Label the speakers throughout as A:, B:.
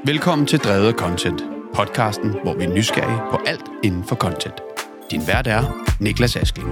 A: Velkommen til Drevet af Content, podcasten, hvor vi er nysgerrige på alt inden for content. Din vært er Niklas Askling.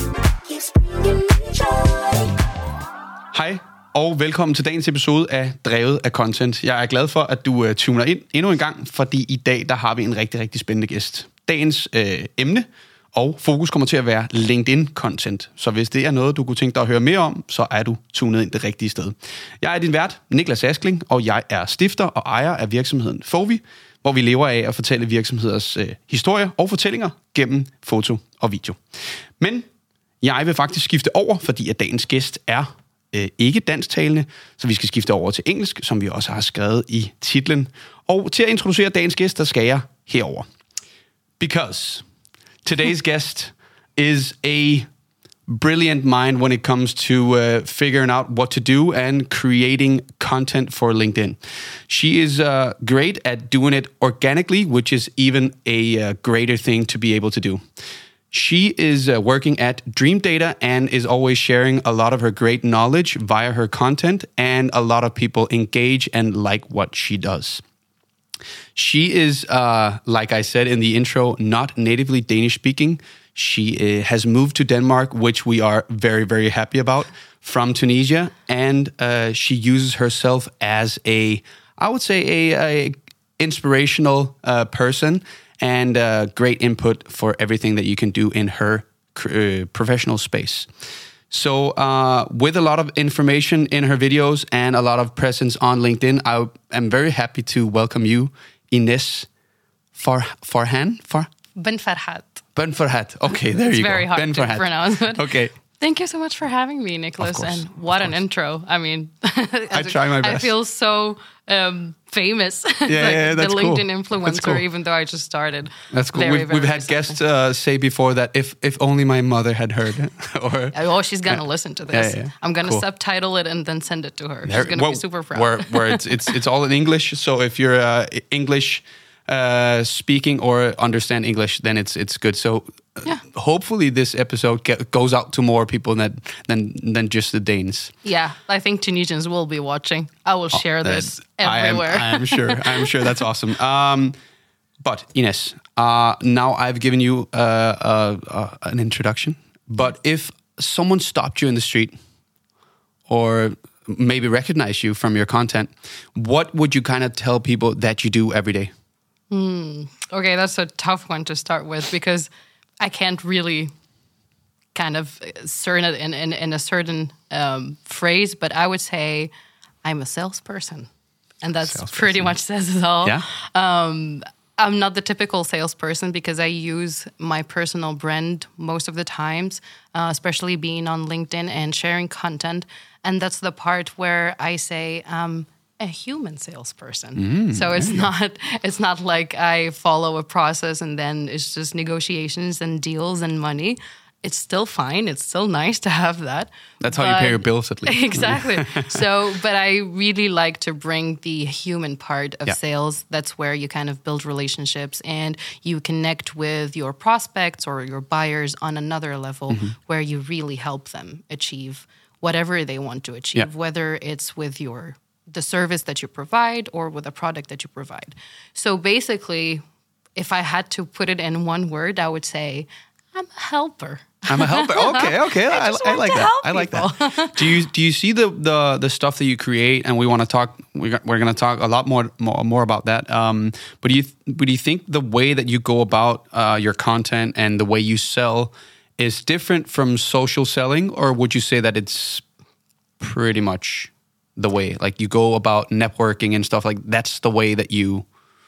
A: Hej og velkommen til dagens episode af Drevet af Content. Jeg er glad for, at du tuner ind endnu en gang, fordi i dag der har vi en rigtig, rigtig spændende gæst. Dagens emne og fokus kommer til at være LinkedIn-content. Så hvis det er noget, du kunne tænke dig at høre mere om, så er du tunet ind det rigtige sted. Jeg er din vært, Niklas Askling, og jeg er stifter og ejer af virksomheden Fovi, hvor vi lever af at fortælle virksomheders historier og fortællinger gennem foto og video. Men jeg vil faktisk skifte over, fordi at dagens gæst er ikke dansktalende, så vi skal skifte over til engelsk, som vi også har skrevet i titlen. Og til at introducere dagens gæst, der skal jeg herover. Because today's guest is a brilliant mind when it comes to figuring out what to do and creating content for LinkedIn. She is great at doing it organically, which is even a greater thing to be able to do. She is working at Dream Data and is always sharing a lot of her great knowledge via her content, and a lot of people engage and like what she does. She is, like I said in the intro, not natively Danish speaking. She has moved to Denmark, which we are very, very happy about, from Tunisia, and she uses herself as a inspirational person and great input for everything that you can do in her professional space. So with a lot of information in her videos and a lot of presence on LinkedIn, I am very happy to welcome you, Ines Farhan?
B: Benfarhat.
A: Benfarhat. Okay, there you go.
B: It's very hard to pronounce. But
A: okay.
B: Thank you so much for having me, Nicholas. And what an intro. I mean,
A: I try my best.
B: I feel so famous.
A: Yeah, that's
B: the
A: cool.
B: LinkedIn influencer,
A: That's cool.
B: Even though I just started.
A: That's cool.
B: Very,
A: We've had guests say before that if only my mother had heard it.
B: Oh, she's going to listen to this.
A: Yeah.
B: I'm going to
A: Cool.
B: subtitle it and then send it to her. She's going to be super proud.
A: Where it's all in English, so if you're English speaking or understand English, then it's good. So hopefully this episode goes out to more people than just the Danes.
B: Yeah, I think Tunisians will be watching. I will share this everywhere.
A: I'm sure that's awesome. But Ines, now I've given you an introduction. But if someone stopped you in the street or maybe recognized you from your content, what would you kind of tell people that you do every day?
B: Okay, that's a tough one to start with because I can't really kind of certain it in a certain phrase, but I would say I'm a salesperson. And that's pretty much says it all.
A: Yeah?
B: I'm not the typical salesperson because I use my personal brand most of the times, especially being on LinkedIn and sharing content. And that's the part where I say a human salesperson. So it's not like I follow a process and then it's just negotiations and deals and money. It's still fine. It's still nice to have that.
A: That's how you pay your bills, at least.
B: Exactly. But I really like to bring the human part of sales. That's where you kind of build relationships and you connect with your prospects or your buyers on another level where you really help them achieve whatever they want to achieve, whether it's with the service that you provide or with a product that you provide. So basically, if I had to put it in one word, I would say I'm a helper.
A: I'm a helper. Okay. I like that. I like that. Do you see the stuff that you create? And we want to talk. We're going to talk a lot more about that. But do you think the way that you go about your content and the way you sell is different from social selling, or would you say that it's pretty much the way, like you go about networking and stuff, like that's the way that you...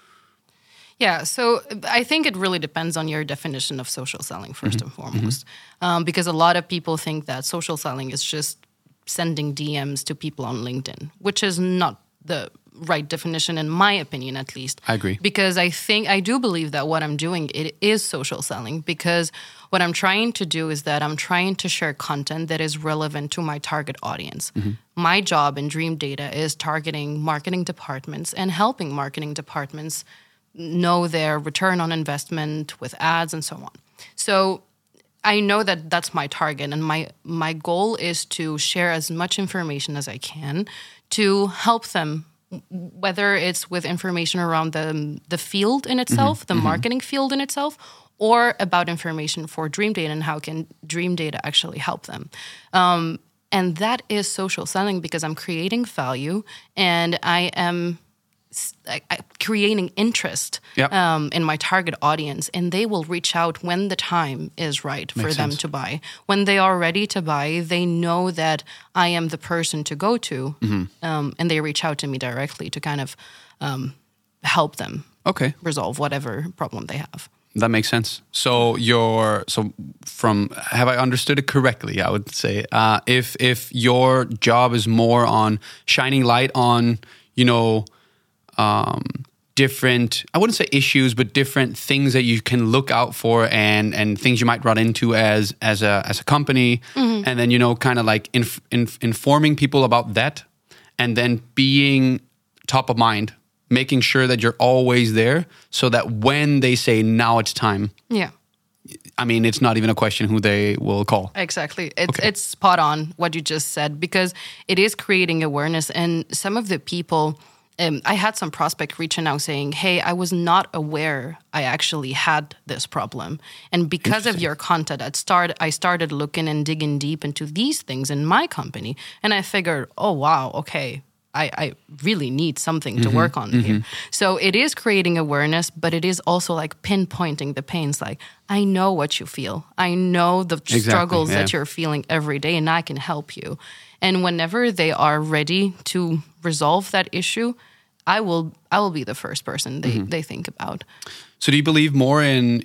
B: Yeah, so I think it really depends on your definition of social selling, first and foremost. Because a lot of people think that social selling is just sending DMs to people on LinkedIn, which is not the right definition, in my opinion, at least.
A: I agree.
B: Because I do believe that what I'm doing, it is social selling, because what I'm trying to do is that I'm trying to share content that is relevant to my target audience. My job in Dream Data is targeting marketing departments and helping marketing departments know their return on investment with ads and so on. So I know that that's my target, and my goal is to share as much information as I can to help them whether it's with information around the field in itself, the marketing field in itself, or about information for Dream Data and how can Dream Data actually help them. And that is social selling because I'm creating value and I am creating interest in my target audience, and they will reach out when the time is right for them to buy. When they are ready to buy, they know that I am the person to go to, and they reach out to me directly to kind of help them resolve whatever problem they have.
A: That makes sense. So have I understood it correctly? I would say if your job is more on shining light on, different, I wouldn't say issues, but different things that you can look out for and things you might run into as a company, and then kind of like informing people about that, and then being top of mind. Making sure that you're always there so that when they say, now it's time. Yeah. I mean, it's not even a question who they will call.
B: Exactly. It's spot on what you just said, because it is creating awareness. And some of the people, I had some prospect reaching out saying, hey, I was not aware I actually had this problem. And because of your content, I started looking and digging deep into these things in my company. And I figured, oh, wow, okay. I really need something to work on here. So it is creating awareness, but it is also like pinpointing the pains. Like, I know what you feel. I know the struggles that you're feeling every day, and I can help you. And whenever they are ready to resolve that issue, I will be the first person they think about.
A: So do you believe more in,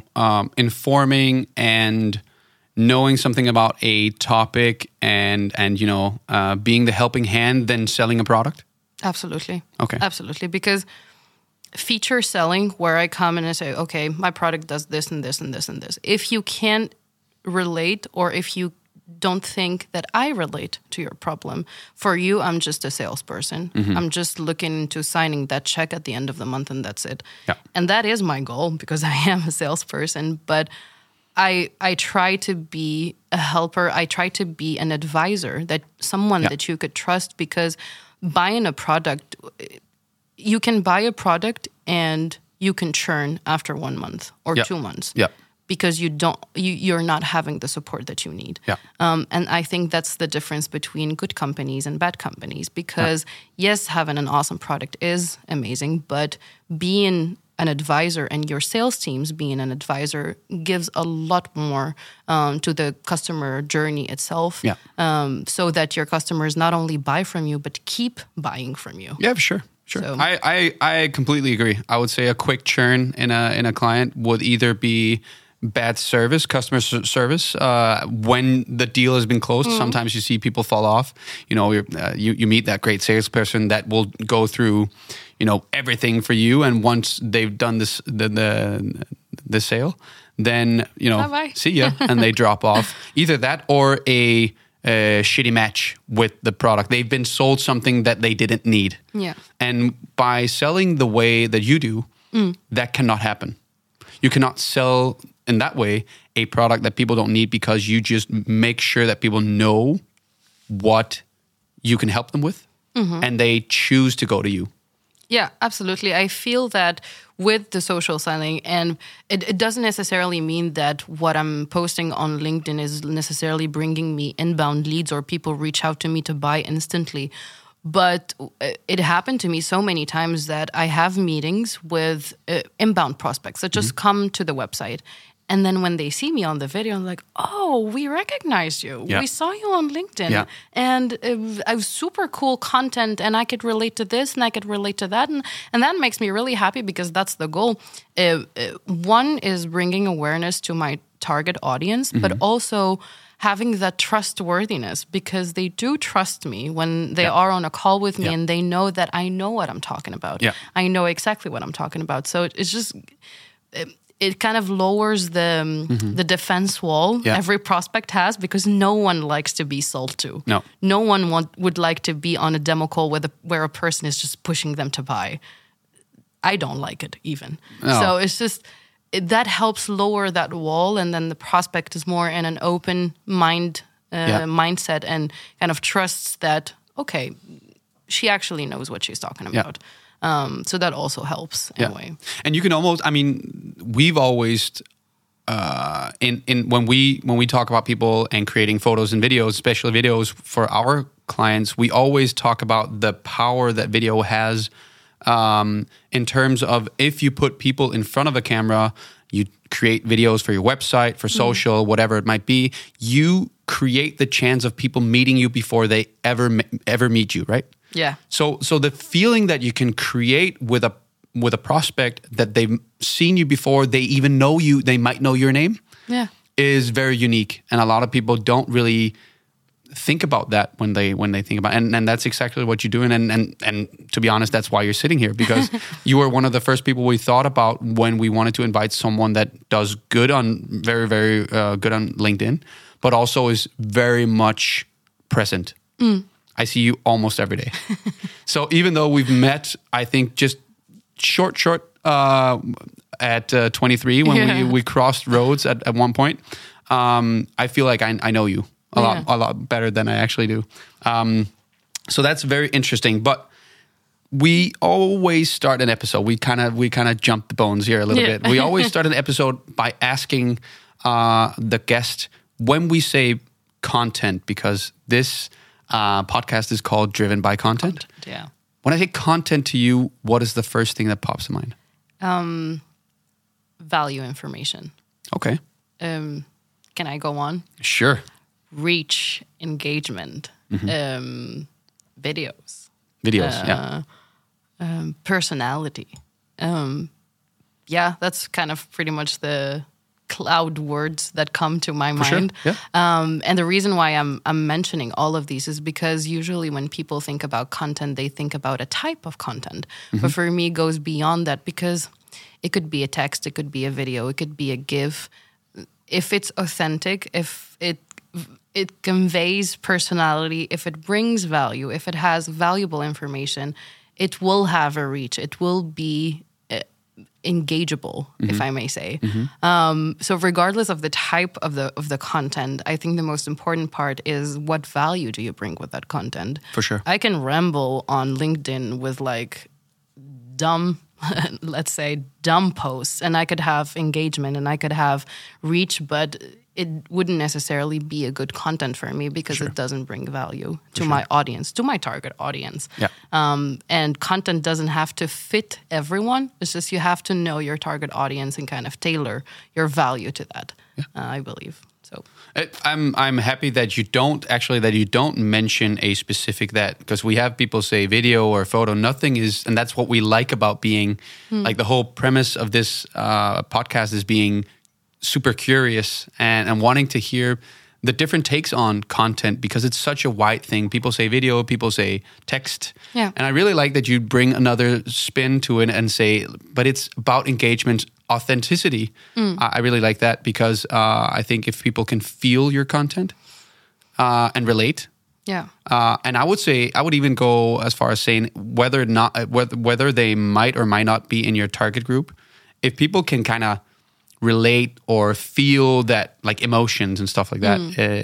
A: informing and knowing something about a topic and being the helping hand than selling a product?
B: Absolutely.
A: Okay.
B: Absolutely. Because feature selling, where I come and I say, okay, my product does this and this and this and this. If you can't relate, or if you don't think that I relate to your problem, for you, I'm just a salesperson. I'm just looking into signing that check at the end of the month, and that's it. Yeah. And that is my goal, because I am a salesperson. But I try to be a helper. I try to be an advisor, that someone that you could trust, because buying a product, you can buy a product and you can churn after 1 month or 2 months. Yeah. Because you're not having the support that you need. Yeah. And I think that's the difference between good companies and bad companies, because yes, having an awesome product is amazing, but being an advisor and your sales teams being an advisor gives a lot more to the customer journey itself, so that your customers not only buy from you, but keep buying from you.
A: Yeah, sure. So. I completely agree. I would say a quick churn in a client would either be bad service, customer service, when the deal has been closed. Sometimes you see people fall off. You meet that great salesperson that will go through everything for you, and once they've done this the sale, then
B: bye-bye.
A: See ya, and they drop off. Either that or a shitty match with the product. They've been sold something that they didn't need. Yeah. And by selling the way that you do, that cannot happen. You cannot sell in that way a product that people don't need, because you just make sure that people know what you can help them with, and they choose to go to you.
B: Yeah, absolutely. I feel that with the social selling, and it doesn't necessarily mean that what I'm posting on LinkedIn is necessarily bringing me inbound leads or people reach out to me to buy instantly. But it happened to me so many times that I have meetings with inbound prospects that just come to the website. And then when they see me on the video, I'm like, oh, we recognized you. Yeah. We saw you on LinkedIn. Yeah. And it was super cool content, and I could relate to this and I could relate to that. And that makes me really happy, because that's the goal. One is bringing awareness to my target audience, but also having that trustworthiness, because they do trust me when they are on a call with me, and they know that I know what I'm talking about. Yeah. I know exactly what I'm talking about. So it's just... It kind of lowers the defense wall every prospect has, because no one likes to be sold to. No one would like to be on a demo call where a person is just pushing them to buy. I don't like it even. No. So it's just, that helps lower that wall, and then the prospect is more in an open mindset and kind of trusts that, okay, she actually knows what she's talking about. So that also helps in a way.
A: And you can almost, I mean, we've always when we talk about people and creating photos and videos, especially videos for our clients, we always talk about the power that video has in terms of if you put people in front of a camera, you create videos for your website, for social, whatever it might be, you create the chance of people meeting you before they ever meet you, right?
B: Yeah.
A: So the feeling that you can create with a prospect that they've seen you before they even know you, they might know your name, is very unique, and a lot of people don't really think about that when they think about it. And that's exactly what you're doing. And to be honest, that's why you're sitting here, because you were one of the first people we thought about when we wanted to invite someone that does good on very, very good on LinkedIn, but also is very much present. I see you almost every day. So even though we've met, I think just short at 23 when we crossed roads at one point, I feel like I know you a lot better than I actually do. So that's very interesting. But we always start an episode. We kind of jump the bones here a little bit. We always start an episode by asking the guest, when we say content, because this podcast is called Driven by Content.
B: Yeah.
A: When I say content to you, what is the first thing that pops to mind?
B: Value information.
A: Okay.
B: Can I go on?
A: Sure.
B: Reach, engagement, videos.
A: Videos,
B: personality. That's kind of pretty much the cloud words that come to my mind.
A: Sure. Yeah.
B: And the reason why I'm mentioning all of these is because usually when people think about content, they think about a type of content. But for me, it goes beyond that, because it could be a text, it could be a video, it could be a GIF. If it's authentic, if it conveys personality, if it brings value, if it has valuable information, it will have a reach. It will be engageable, if I may say. So regardless of the type of the content, I think the most important part is what value do you bring with that content?
A: For sure.
B: I can ramble on LinkedIn with like dumb let's say dumb posts, and I could have engagement and I could have reach, but it wouldn't necessarily be a good content for me because it doesn't bring value to my audience, to my target audience.
A: Yeah.
B: And content doesn't have to fit everyone. It's just you have to know your target audience and kind of tailor your value to that, I believe. So
A: I'm happy that you don't mention a specific that, because we have people say video or photo. Nothing is, and that's what we like about being like the whole premise of this podcast is being super curious and wanting to hear the different takes on content, because it's such a wide thing. People say video, people say text.
B: Yeah.
A: And I really like that you bring another spin to it and say, but it's about engagement, authenticity. I really like that, because I think if people can feel your content and relate.
B: Yeah.
A: And I would even go as far as saying whether they might or might not be in your target group, if people can kind of relate or feel that, like emotions and stuff like that,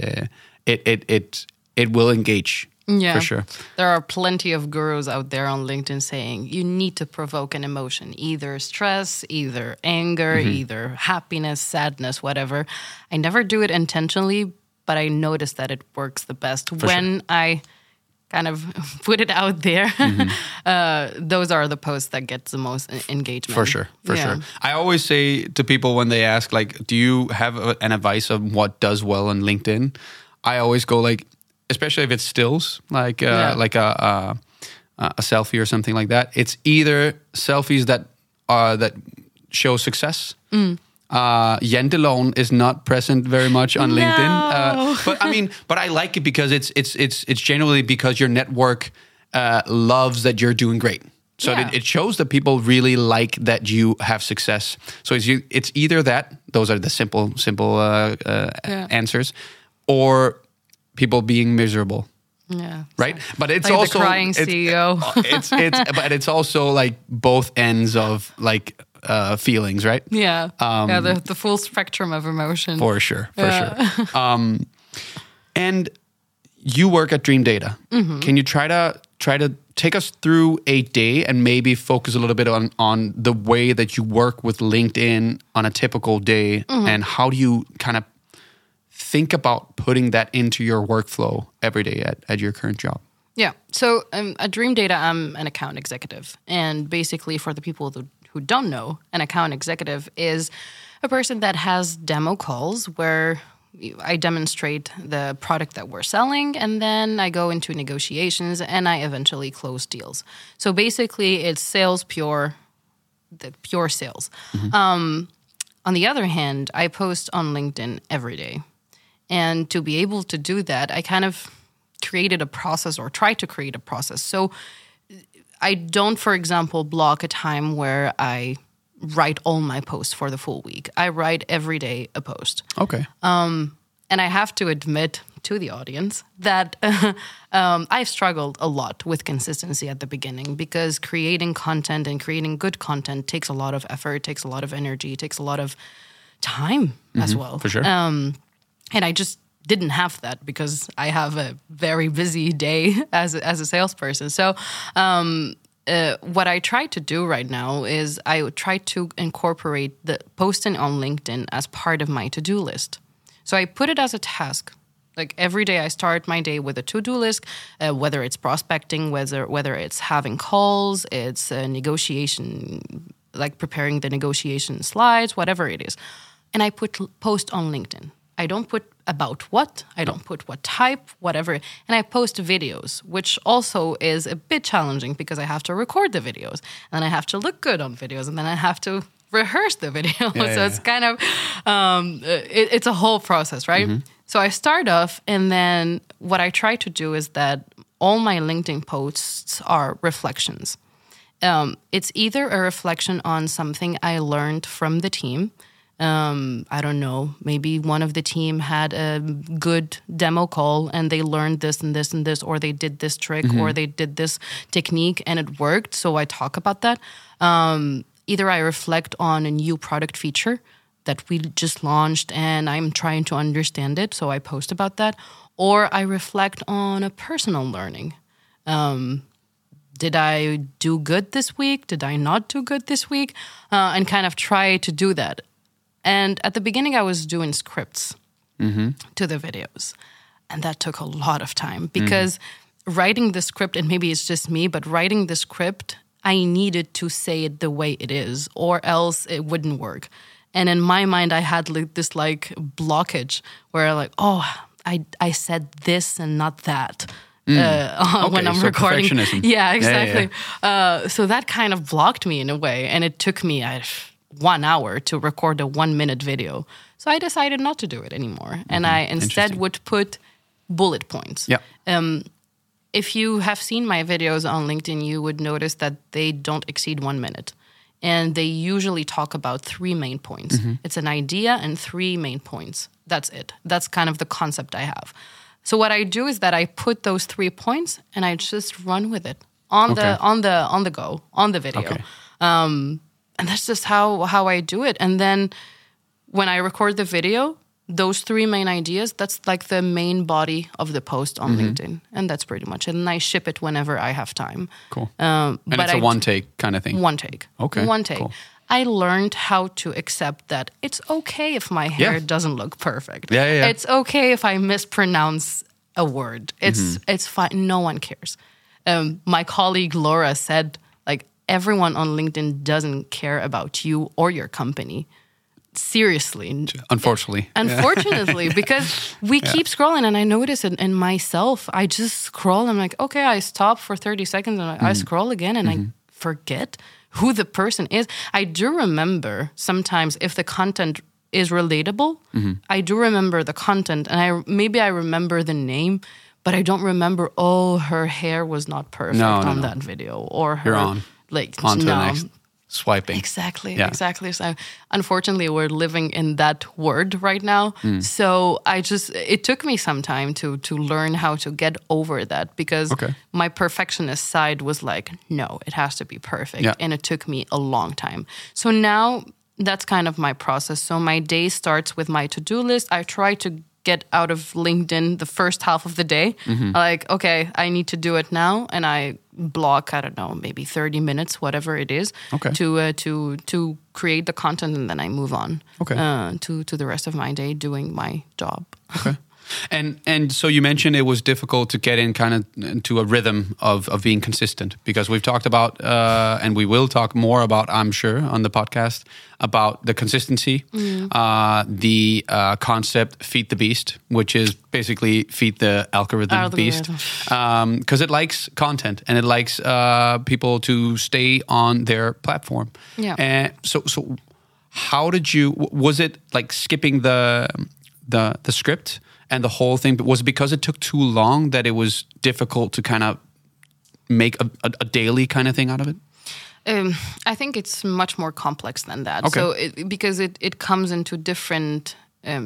A: it will engage.
B: Yeah,
A: for sure.
B: There are plenty of gurus out there on LinkedIn saying you need to provoke an emotion, either stress, either anger, either happiness, sadness, whatever. I never do it intentionally, but I notice that it works the best when I kind of put it out there. Those are the posts that get the most engagement.
A: For sure. I always say to people when they ask, like, do you have an advice of what does well on LinkedIn? I always go like, especially if it's stills, like a selfie or something like that. It's either selfies that show success. Janteloven is not present very much on LinkedIn, but I like it because it's generally because your network loves that you're doing great. So it shows that people really like that you have success. So it's either that, those are the simple answers, or people being miserable.
B: Yeah.
A: Right? But it's
B: like
A: also
B: the crying CEO.
A: But it's also like both ends of like feelings, right?
B: Yeah. The full spectrum of emotion.
A: For sure. And you work at Dream Data. Can you try try to take us through a day and maybe focus a little bit on the way that you work with LinkedIn on a typical day, and how do you kind of think about putting that into your workflow every day at your current job?
B: Yeah. So at Dream Data, I'm an account executive. And basically, for the people who don't know, an account executive is a person that has demo calls where I demonstrate the product that we're selling, and then I go into negotiations, and I eventually close deals. So basically, it's sales, pure sales. On the other hand, I post on LinkedIn every day. And to be able to do that, I kind of created a process, or try to create a process. So I don't, for example, block a time where I write all my posts for the full week. I write every day a post.
A: Okay.
B: And I have to admit to the audience that I've struggled a lot with consistency at the beginning, because creating content and creating good content takes a lot of effort, takes a lot of energy, takes a lot of time as well.
A: For sure.
B: And I just didn't have that because I have a very busy day as a salesperson. So what I try to do right now is I try to incorporate the posting on LinkedIn as part of my to-do list. So I put it as a task. Like every day I start my day with a to-do list, whether it's prospecting, whether it's having calls, it's a negotiation, like preparing the negotiation slides, whatever it is. And I post on LinkedIn. I don't put about what, I don't put what type, whatever. And I post videos, which also is a bit challenging because I have to record the videos, and I have to look good on videos, and then I have to rehearse the video. It's kind of, it's a whole process, right? So I start off, and then what I try to do is that all my LinkedIn posts are reflections. It's either a reflection on something I learned from the team. I don't know, maybe one of the team had a good demo call and they learned this and this and this, or they did this trick, or they did this technique and it worked. So I talk about that. Either I reflect on a new product feature that we just launched and I'm trying to understand it, so I post about that. Or I reflect on a personal learning. Did I do good this week? Did I not do good this week? And kind of try to do that. And at the beginning, I was doing scripts to the videos. And that took a lot of time because writing the script, and maybe it's just me, but writing the script, I needed to say it the way it is, or else it wouldn't work. And in my mind, I had this blockage where I said this and not that. When I'm recording.
A: Perfectionism.
B: Yeah, exactly. So that kind of blocked me in a way. And it took me 1 hour to record a 1-minute video. So I decided not to do it anymore. And I instead would put bullet points.
A: Yeah.
B: If you have seen my videos on LinkedIn, you would notice that they don't exceed 1 minute. And they usually talk about 3 main points. It's an idea and 3 main points. That's it. That's kind of the concept I have. So what I do is that I put those 3 points and I just run with it on the go, on the video.
A: Okay.
B: And that's just how I do it. And then when I record the video, those 3 main ideas, that's like the main body of the post on LinkedIn. And that's pretty much it. And I ship it whenever I have time.
A: Cool. And it's a one-take kind of thing?
B: One take.
A: Okay.
B: One take.
A: Cool.
B: I learned how to accept that it's okay if my hair doesn't look perfect.
A: Yeah.
B: It's okay if I mispronounce a word. It's fine. No one cares. My colleague Laura said, everyone on LinkedIn doesn't care about you or your company. Seriously. Unfortunately, because we keep scrolling, and I notice it in myself. I just scroll. I'm like, okay, I stop for 30 seconds and I scroll again, and I forget who the person is. I do remember sometimes if the content is relatable, I do remember the content, and I remember the name, but I don't remember, her hair was not perfect on that video, or her...
A: You're on. On to the next. Swiping.
B: Exactly. So unfortunately, we're living in that world right now. So it took me some time to learn how to get over that, because my perfectionist side was like, no, it has to be perfect. Yeah. And it took me a long time. So now that's kind of my process. So my day starts with my to-do list. I try to get out of LinkedIn the first half of the day. Like, okay, I need to do it now, and I block, I don't know, maybe 30 minutes, whatever it is, to create the content, and then I move on to the rest of my day doing my job.
A: Okay. And so you mentioned it was difficult to get in kind of into a rhythm of being consistent, because we've talked about, and we will talk more about, I'm sure, on the podcast, about the consistency, the concept feed the beast, which is basically feed the algorithm beast, because it likes content and it likes people to stay on their platform.
B: Yeah.
A: And so how did you, was it like skipping the script and the whole thing, but was it because it took too long that it was difficult to kind of make a daily kind of thing out of it?
B: I think it's much more complex than that.
A: Okay.
B: So because it comes into different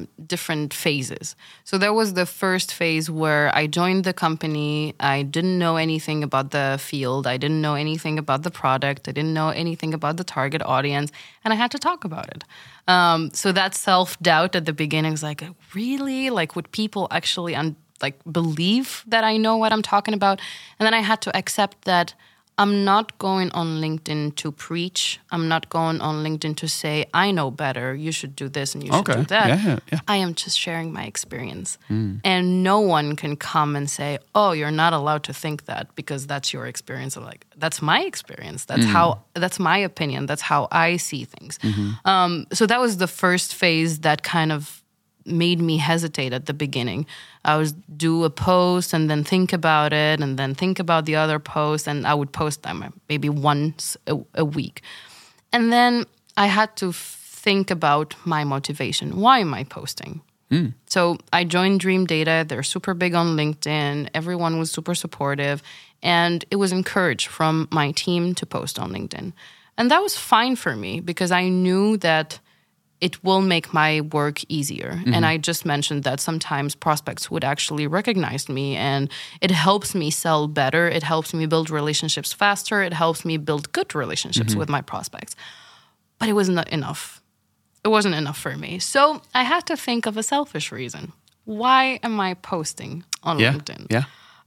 B: phases. So there was the first phase where I joined the company. I didn't know anything about the field. I didn't know anything about the product. I didn't know anything about the target audience, and I had to talk about it. So that self-doubt at the beginning was like, really? Like, would people actually believe that I know what I'm talking about? And then I had to accept that I'm not going on LinkedIn to preach. I'm not going on LinkedIn to say, I know better, you should do this and you should do that.
A: Yeah.
B: I am just sharing my experience. And no one can come and say, oh, you're not allowed to think that because that's your experience. I'm like, that's my experience. That's my opinion. That's how I see things. So that was the first phase that kind of made me hesitate at the beginning. I would do a post and then think about it and then think about the other post, and I would post them maybe once a week. And then I had to think about my motivation. Why am I posting? So I joined Dream Data. They're super big on LinkedIn. Everyone was super supportive, and it was encouraged from my team to post on LinkedIn. And that was fine for me because I knew that it will make my work easier. And I just mentioned that sometimes prospects would actually recognize me, and it helps me sell better. It helps me build relationships faster. It helps me build good relationships with my prospects. But it was not enough. It wasn't enough for me. So I had to think of a selfish reason. Why am I posting on LinkedIn?
A: Yeah.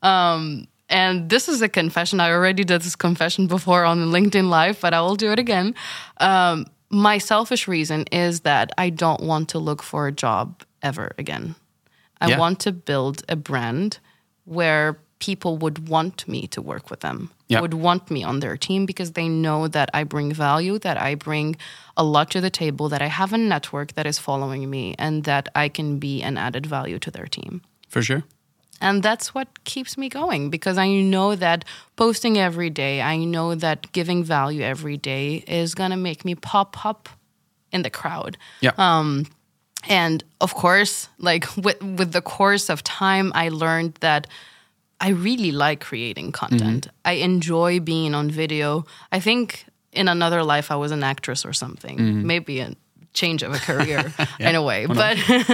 B: And this is a confession. I already did this confession before on LinkedIn Live, but I will do it again. My selfish reason is that I don't want to look for a job ever again. I want to build a brand where people would want me to work with them, would want me on their team because they know that I bring value, that I bring a lot to the table, that I have a network that is following me, and that I can be an added value to their team.
A: For sure.
B: And that's what keeps me going, because I know that posting every day, I know that giving value every day is going to make me pop up in the crowd.
A: Yeah.
B: And of course, like with the course of time, I learned that I really like creating content. I enjoy being on video. I think in another life I was an actress or something, maybe a change of a career in a way. But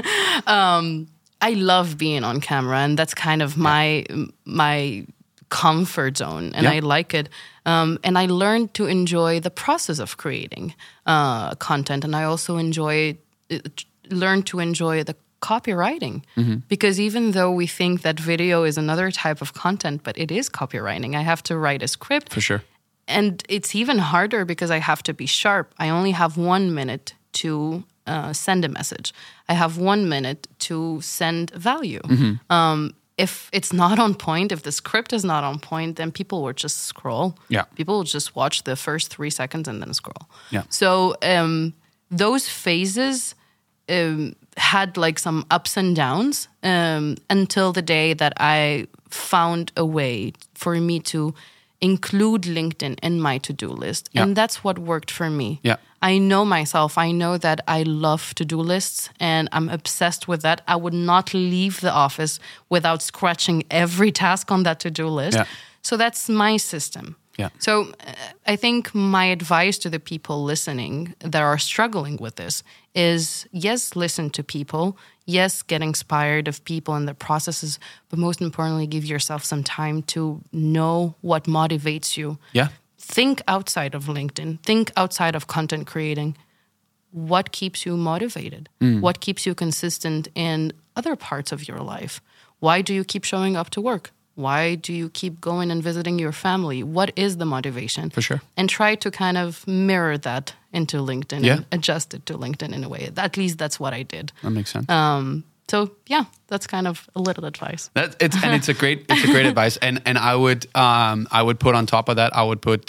B: I love being on camera, and that's kind of my comfort zone, and I like it. And I learned to enjoy the process of creating content, and I also learned to enjoy the copywriting, because even though we think that video is another type of content, but it is copywriting. I have to write a script.
A: For sure.
B: And it's even harder because I have to be sharp. I only have 1 minute to send a message. I have 1 minute to send value. If it's not on point, if the script is not on point, then people will just scroll.
A: Yeah.
B: People will just watch the first 3 seconds and then scroll.
A: Yeah.
B: So those phases had like some ups and downs until the day that I found a way for me to include LinkedIn in my to-do list.
A: Yeah.
B: And that's what worked for me.
A: Yeah.
B: I know myself. I know that I love to-do lists, and I'm obsessed with that. I would not leave the office without scratching every task on that to-do list.
A: Yeah.
B: So that's my system.
A: Yeah.
B: So I think my advice to the people listening that are struggling with this is, yes, listen to people. Yes, get inspired of people and their processes, but most importantly, give yourself some time to know what motivates you.
A: Yeah.
B: Think outside of LinkedIn. Think outside of content creating. what keeps you motivated? What keeps you consistent in other parts of your life? Why do you keep showing up to work? Why do you keep going and visiting your family? What is the motivation?
A: For sure.
B: And try to kind of mirror that into LinkedIn and adjust it to LinkedIn in a way. At least that's what I did.
A: That makes sense.
B: So yeah, that's kind of a little advice.
A: It's a great advice. And I would put on top of that, I would put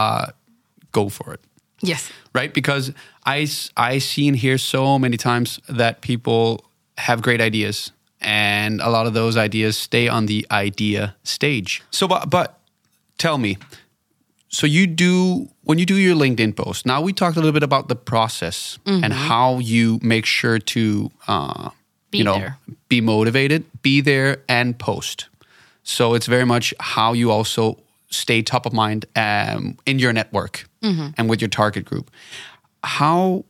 A: go for it.
B: Yes.
A: Right? Because I see and hear so many times that people have great ideas, and a lot of those ideas stay on the idea stage. So, but tell me, so when you do your LinkedIn post, now we talked a little bit about the process and how you make sure to, be motivated, be there and post. So it's very much how you also stay top of mind in your network and with your target group. How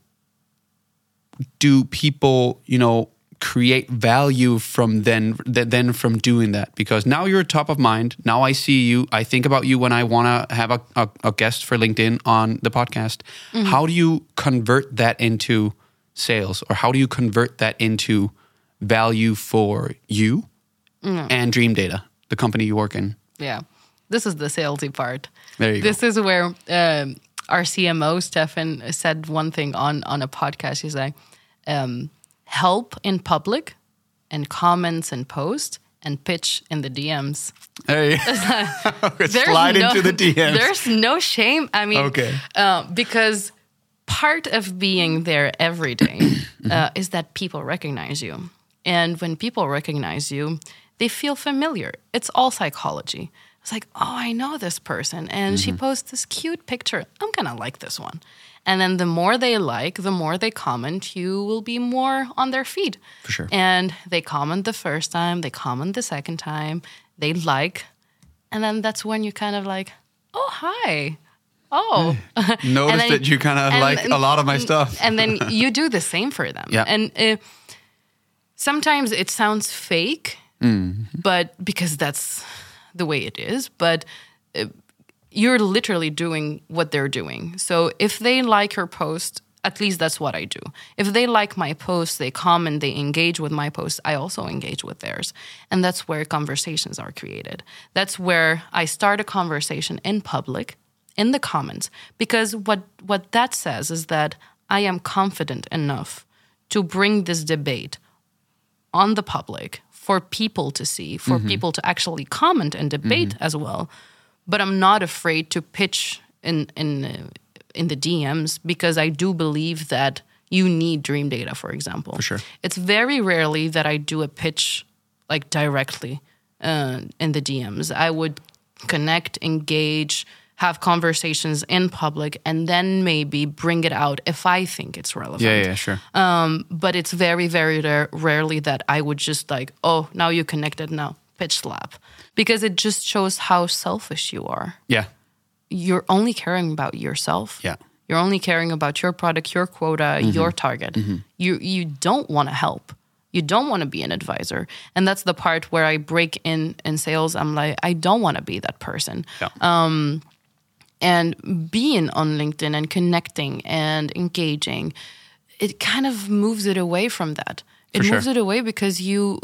A: do people, create value from from doing that? Because now you're top of mind. Now I see you. I think about you when I want to have a guest for LinkedIn on the podcast. How do you convert that into sales, or how do you convert that into value for you and Dream Data, the company you work in?
B: Yeah, this is the salesy part.
A: There you go.
B: This is where our CMO, Stefan, said one thing on a podcast. He's like, help in public and comments and post and pitch in the DMs.
A: Hey, slide into the DMs.
B: There's no shame. I mean, because part of being there every day is that people recognize you. And when people recognize you, they feel familiar. It's all psychology. It's like, oh, I know this person, and she posts this cute picture. I'm going to like this one. And then the more they like, the more they comment, you will be more on their feed.
A: For sure.
B: And they comment the first time, they comment the second time, they like, and then that's when you kind of like, oh, hi. Oh.
A: Notice that you kind of like a lot of my stuff.
B: And then you do the same for them.
A: Yeah.
B: And sometimes it sounds fake, but because that's the way it is, but you're literally doing what they're doing. So if they like your post, at least that's what I do. If they like my post, they comment, they engage with my post, I also engage with theirs. And that's where conversations are created. That's where I start a conversation in public, in the comments, because what that says is that I am confident enough to bring this debate on the public for people to see, for people to actually comment and debate as well. But I'm not afraid to pitch in the DMs, because I do believe that you need Dream Data, for example.
A: For sure.
B: It's very rarely that I do a pitch like directly in the DMs. I would connect, engage, have conversations in public, and then maybe bring it out if I think it's relevant.
A: Yeah, sure.
B: But it's very, very rarely that I would just like, oh, now you connected, now pitch slap. Because it just shows how selfish you are.
A: Yeah.
B: You're only caring about yourself.
A: Yeah.
B: You're only caring about your product, your quota, your target. You don't want to help. You don't want to be an advisor. And that's the part where I break in sales. I'm like, I don't want to be that person.
A: Yeah.
B: And being on LinkedIn and connecting and engaging, it kind of moves it away from that. It moves it away because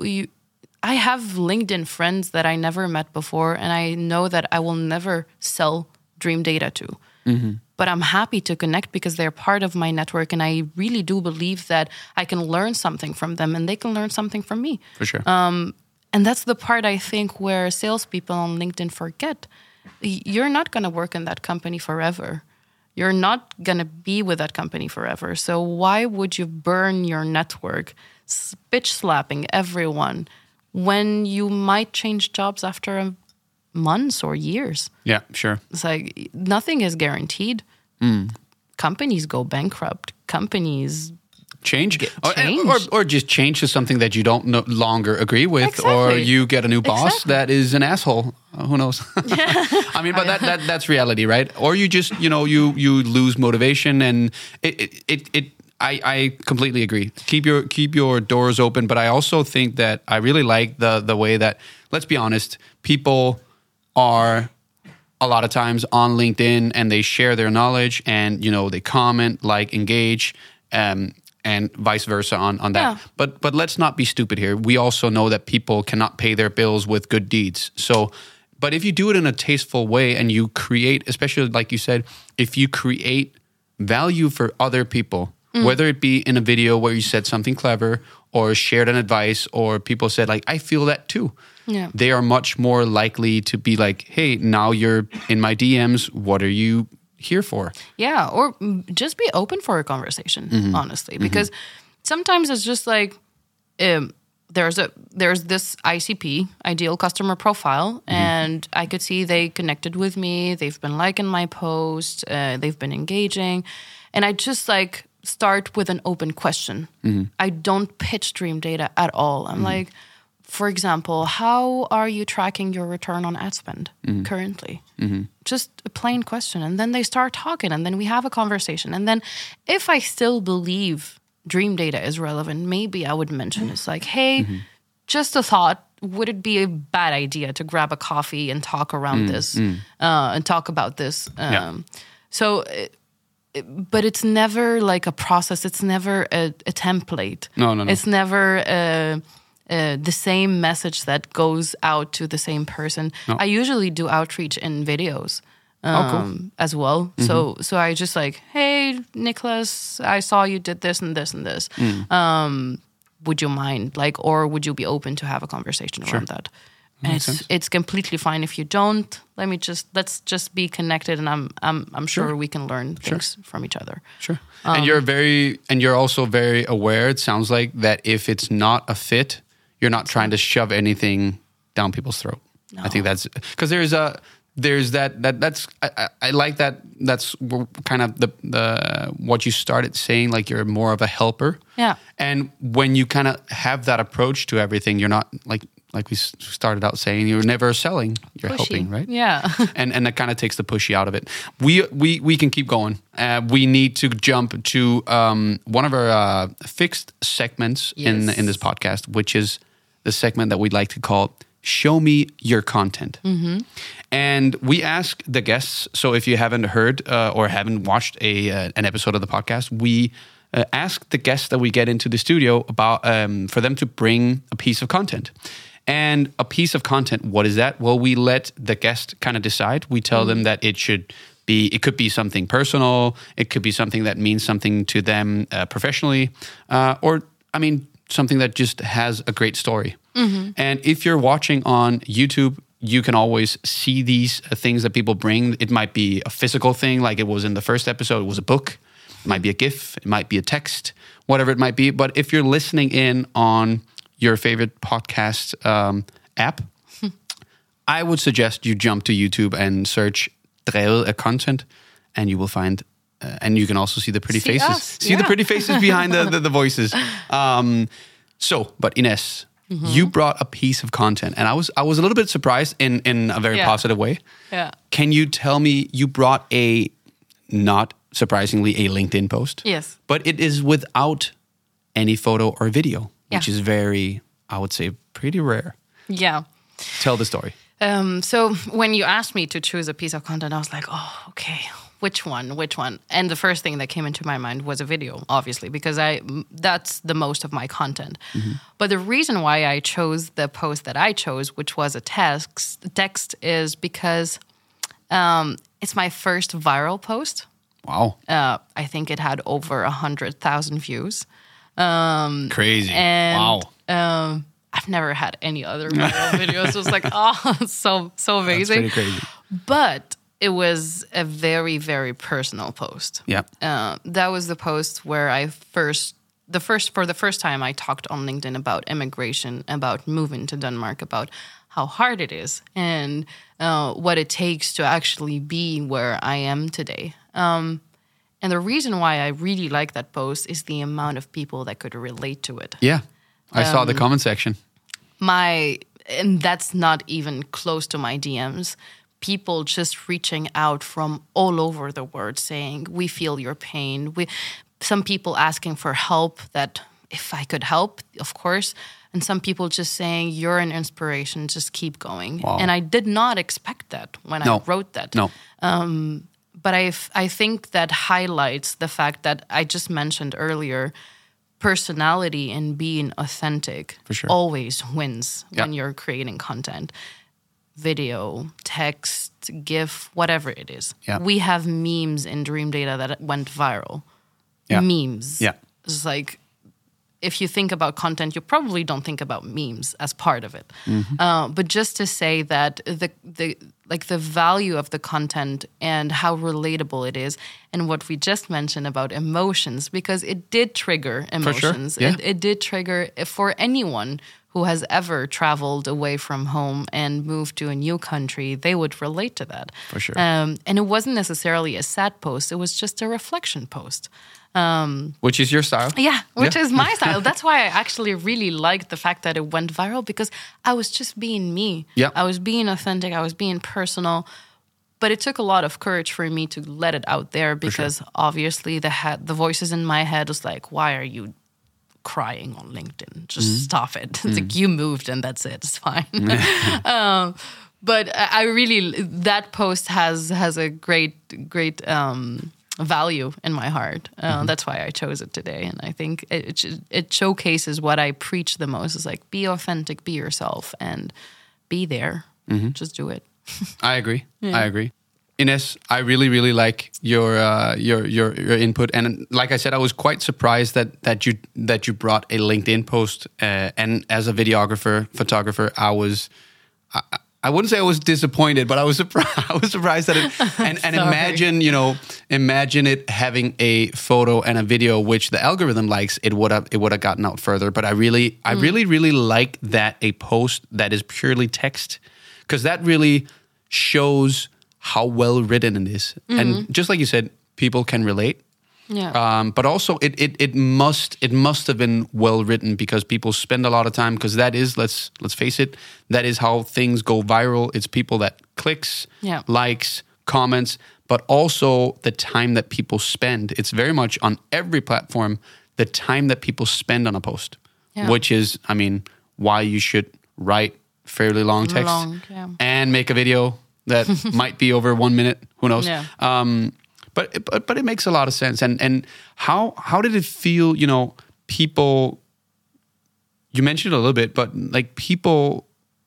B: I have LinkedIn friends that I never met before, and I know that I will never sell Dream Data to. But I'm happy to connect because they're part of my network, and I really do believe that I can learn something from them and they can learn something from me.
A: For sure.
B: And that's the part I think where salespeople on LinkedIn forget. You're not going to work in that company forever. You're not going to be with that company forever. So why would you burn your network, bitch slapping everyone, when you might change jobs after months or years?
A: Yeah, sure.
B: It's like nothing is guaranteed. Companies go bankrupt. Companies
A: change.
B: Change.
A: Or just change to something that you don't no longer agree with,
B: Exactly.
A: or you get a new boss
B: Exactly.
A: that is an asshole. Who knows? I mean, but that's reality, right? Or you just, you lose motivation, and I completely agree. Keep your doors open, but I also think that I really like the way that, let's be honest, people are a lot of times on LinkedIn and they share their knowledge and, they comment, like, engage. and vice versa on that.
B: Yeah.
A: But let's not be stupid here. We also know that people cannot pay their bills with good deeds. So, but if you do it in a tasteful way and you create, especially like you said, if you create value for other people, whether it be in a video where you said something clever or shared an advice or people said like, I feel that too.
B: Yeah.
A: They are much more likely to be like, hey, now you're in my DMs. What are you here for?
B: Yeah, or just be open for a conversation, honestly, because sometimes it's just like there's this ICP, ideal customer profile, and I could see they connected with me. They've been liking my post. They've been engaging, and I just like start with an open question. I don't pitch Dream Data at all. I'm like, for example, how are you tracking your return on ad spend currently? Just a plain question. And then they start talking, and then we have a conversation. And then if I still believe Dream Data is relevant, maybe I would mention it's like, hey, just a thought. Would it be a bad idea to grab a coffee and talk around this and talk about this? So, but it's never like a process. It's never a template.
A: No.
B: It's never the same message that goes out to the same person.
A: No.
B: I usually do outreach in videos
A: cool.
B: as well. So I just like, hey, Nicholas, I saw you did this and this and this. Would you mind, like, or would you be open to have a conversation around that? And it's completely fine if you don't. Let's just be connected, and I'm sure we can learn things from each other.
A: Sure. And you're also very aware. It sounds like that if it's not a fit, you're not trying to shove anything down people's throat.
B: No.
A: I think that's because I like that. That's kind of the what you started saying. Like you're more of a helper.
B: Yeah.
A: And when you kind of have that approach to everything, you're not like we started out saying, you're never selling, you're
B: Pushy.
A: helping, right?
B: Yeah.
A: and that kind of takes the pushy out of it. We can keep going. We need to jump to one of our fixed segments in this podcast, which is the segment that we'd like to call Show Me Your Content. And we ask the guests, so if you haven't heard or haven't watched an episode of the podcast, we ask the guests that we get into the studio about for them to bring a piece of content. And a piece of content, what is that? Well, we let the guest kind of decide. We tell them that it could be something personal. It could be something that means something to them professionally. Or, something that just has a great story. And if you're watching on YouTube, you can always see these things that people bring. It might be a physical thing, like it was in the first episode. It was a book. It might be a GIF. It might be a text, whatever it might be. But if you're listening in on your favorite podcast app, I would suggest you jump to YouTube and search Drevet af Content, and you will find, and you can also see the pretty faces. See the pretty faces behind the voices. But Ines, you brought a piece of content, and I was a little bit surprised in a very positive way.
B: Yeah.
A: Can you tell me, you brought not surprisingly, a LinkedIn post?
B: Yes.
A: But it is without any photo or video, which
B: Yeah.
A: is very, I would say, pretty rare.
B: Yeah.
A: Tell the story.
B: So when you asked me to choose a piece of content, I was like, oh, okay, which one? And the first thing that came into my mind was a video, obviously, because that's the most of my content. But the reason why I chose the post that I chose, which was a text is because it's my first viral post.
A: Wow.
B: I think it had over 100,000 views.
A: Crazy.
B: And,
A: wow.
B: I've never had any other viral videos. It was like, so amazing.
A: That's pretty crazy.
B: But it was a very, very personal post.
A: Yeah.
B: That was the post where for the first time I talked on LinkedIn about immigration, about moving to Denmark, about how hard it is and what it takes to actually be where I am today. And the reason why I really like that post is the amount of people that could relate to it.
A: Yeah. I saw the comment section.
B: And that's not even close to my DMs. People just reaching out from all over the world saying, we feel your pain. Some people asking for help, that if I could help, of course. And some people just saying, you're an inspiration, just keep going.
A: Wow.
B: And I did not expect that when I wrote that.
A: No.
B: But I think that highlights the fact that I just mentioned earlier, personality and being authentic always wins when you're creating content. Video, text, GIF, whatever it is. Yeah. We have memes in Dream Data that went viral. Yeah. Memes. Yeah. It's like, if you think about content, you probably don't think about memes as part of it. Mm-hmm. But just to say that the value of the content and how relatable it is, and what we just mentioned about emotions, because it did trigger emotions. For sure. Yeah. It did trigger for anyone who has ever traveled away from home and moved to a new country, they would relate to that.
A: For sure.
B: And it wasn't necessarily a sad post. It was just a reflection post.
A: Which is your style?
B: Yeah, which is my style. That's why I actually really liked the fact that it went viral, because I was just being me. Yeah. I was being authentic. I was being personal. But it took a lot of courage for me to let it out there, because obviously the voices in my head was like, why are you crying on LinkedIn? Just stop it. It's like, you moved and that's it. It's fine. But I really, that post has a great value in my heart. That's why I chose it today. And I think it showcases what I preach the most. Is like, be authentic, be yourself, and be there. Mm-hmm. Just do it.
A: I agree. Yeah. I agree. Ines, I really, really like your input, and like I said, I was quite surprised that you brought a LinkedIn post. And as a photographer, I wouldn't say I was disappointed, but I was surprised that it. And imagine it having a photo and a video which the algorithm likes. It would have gotten out further. But I really like that, a post that is purely text, because that really shows how well written it is. Mm-hmm. And just like you said, people can relate. Yeah. But also it must have been well written, because people spend a lot of time, because that is, let's face it, that is how things go viral. It's people that clicks, likes, comments, but also the time that people spend. It's very much on every platform, the time that people spend on a post, which is, I mean, why you should write fairly long text and make a video that might be over 1 minute. Who knows? Yeah. But it makes a lot of sense. And how did it feel? You know, people. You mentioned it a little bit, but like people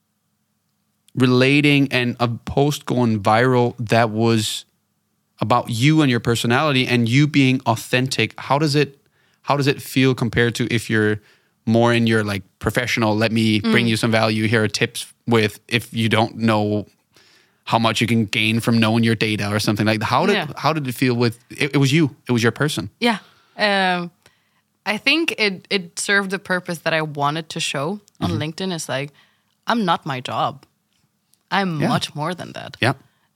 A: relating and a post going viral that was about you and your personality and you being authentic. How does it feel compared to if you're more in your like professional? Let me bring you some value. Here are tips with, if you don't know how much you can gain from knowing your data or something like that. How did it feel with, it was you, it was your person?
B: Yeah. I think it served the purpose that I wanted to show on LinkedIn. It's like, I'm not my job. I'm much more than that. Yeah.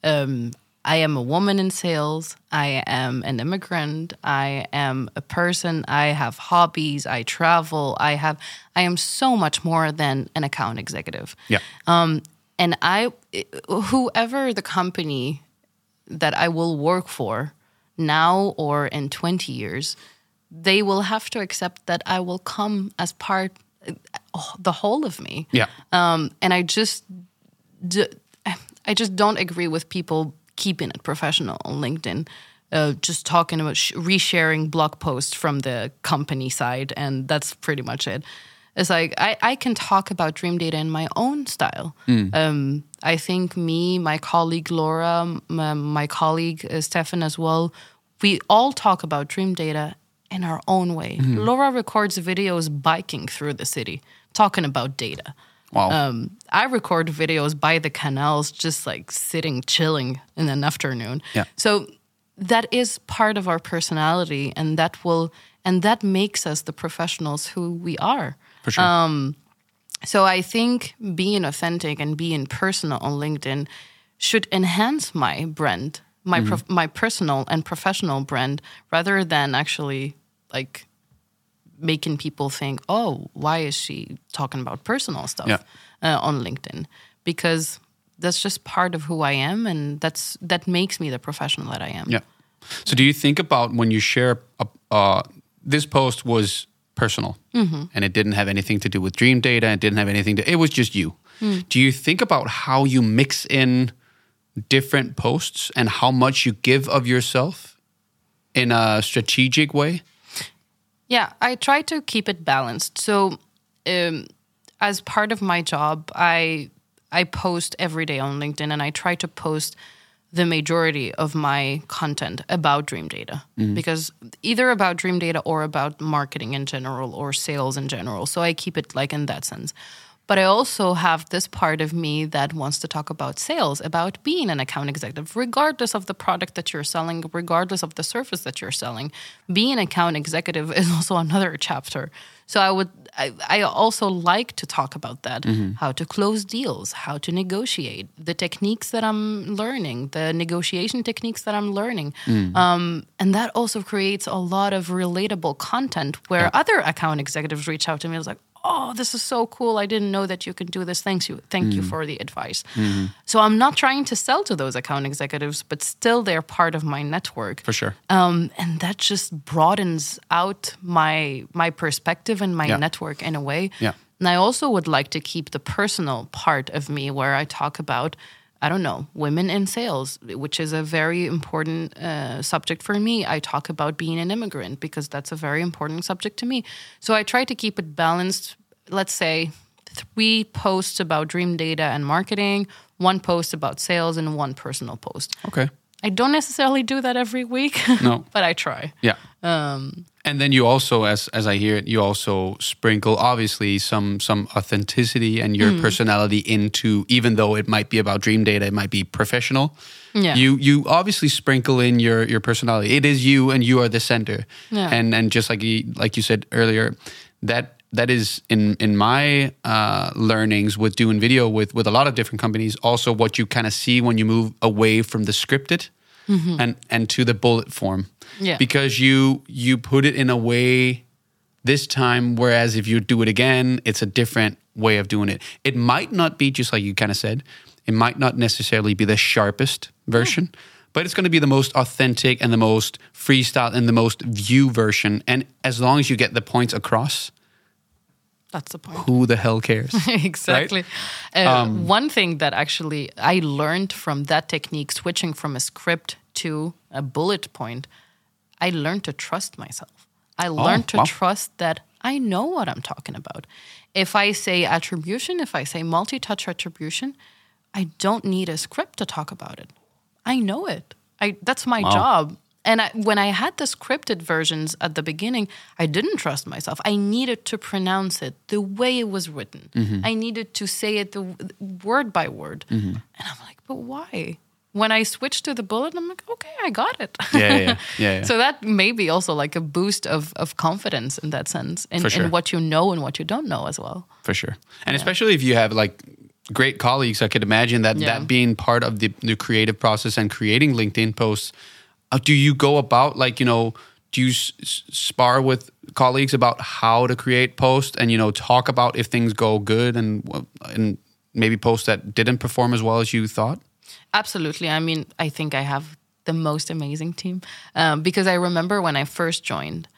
B: I am a woman in sales. I am an immigrant. I am a person. I have hobbies. I travel. I am so much more than an account executive. Yeah. And whoever the company that I will work for now or in 20 years, they will have to accept that I will come as part, the whole of me. Yeah. And I just don't agree with people keeping it professional on LinkedIn, just talking about resharing blog posts from the company side, and that's pretty much it. It's like, I can talk about Dream Data in my own style. I think my colleague Laura, my colleague Stefan as well, we all talk about Dream Data in our own way. Mm-hmm. Laura records videos biking through the city, talking about data. Wow. I record videos by the canals, just like sitting, chilling in an afternoon. Yeah. So that is part of our personality, and that makes us the professionals who we are. For sure. So I think being authentic and being personal on LinkedIn should enhance my brand, my personal and professional brand, rather than actually like making people think, oh, why is she talking about personal stuff on LinkedIn? Because that's just part of who I am, and that makes me the professional that I am. Yeah.
A: So do you think about when you share this post was personal, and it didn't have anything to do with Dream Data, it was just you. Do you think about how you mix in different posts and how much you give of yourself in a strategic way?
B: Yeah, I try to keep it balanced. So as part of my job, I post every day on LinkedIn, and I try to post the majority of my content about Dream Data, because either about Dream Data or about marketing in general or sales in general. So I keep it like in that sense. But I also have this part of me that wants to talk about sales, about being an account executive, regardless of the product that you're selling, regardless of the service that you're selling. Being an account executive is also another chapter. So I also like to talk about that, how to close deals, how to negotiate, the techniques that I'm learning, the negotiation techniques that I'm learning. And that also creates a lot of relatable content where other account executives reach out to me and like, oh, this is so cool. I didn't know that you can do this. Thank you for the advice. So I'm not trying to sell to those account executives, but still they're part of my network.
A: For sure.
B: And that just broadens out my perspective and my network in a way.
A: Yeah.
B: And I also would like to keep the personal part of me where I talk about, I don't know, women in sales, which is a very important subject for me. I talk about being an immigrant because that's a very important subject to me. So I try to keep it balanced. Let's say 3 posts about Dream Data and marketing, 1 post about sales, and 1 personal post.
A: Okay.
B: I don't necessarily do that every week,
A: no,
B: but I try.
A: Yeah. And then you also, as I hear it, you also sprinkle obviously some authenticity and your personality into, even though it might be about Dream Data, it might be professional. Yeah. You obviously sprinkle in your personality. It is you, and you are the center. Yeah. And just like you said earlier, that is in my learnings with doing video with a lot of different companies, also what you kind of see when you move away from the scripted and to the bullet form. Yeah. Because you put it in a way this time, whereas if you do it again, it's a different way of doing it. It might not be, just like you kind of said, it might not necessarily be the sharpest version, but it's going to be the most authentic and the most freestyle and the most view version. And as long as you get the points across,
B: that's the point.
A: Who the hell cares?
B: Exactly.
A: Right?
B: One thing that actually I learned from that technique, switching from a script to a bullet point, I learned to trust myself. I learned to trust that I know what I'm talking about. If I say attribution, if I say multi-touch attribution, I don't need a script to talk about it. I know it. That's my job. And when I had the scripted versions at the beginning, I didn't trust myself. I needed to pronounce it the way it was written. I needed to say it word by word. And I'm like, but why? When I switched to the bullet, I'm like, okay, I got it. Yeah. So that may be also like a boost of confidence in that sense, in what you know and what you don't know as well.
A: For sure. And especially if you have like great colleagues, I could imagine that being part of the creative process and creating LinkedIn posts. Do you go about do you spar with colleagues about how to create posts and, talk about if things go good and maybe posts that didn't perform as well as you thought?
B: Absolutely. I mean, I think I have the most amazing team because I remember when I first joined,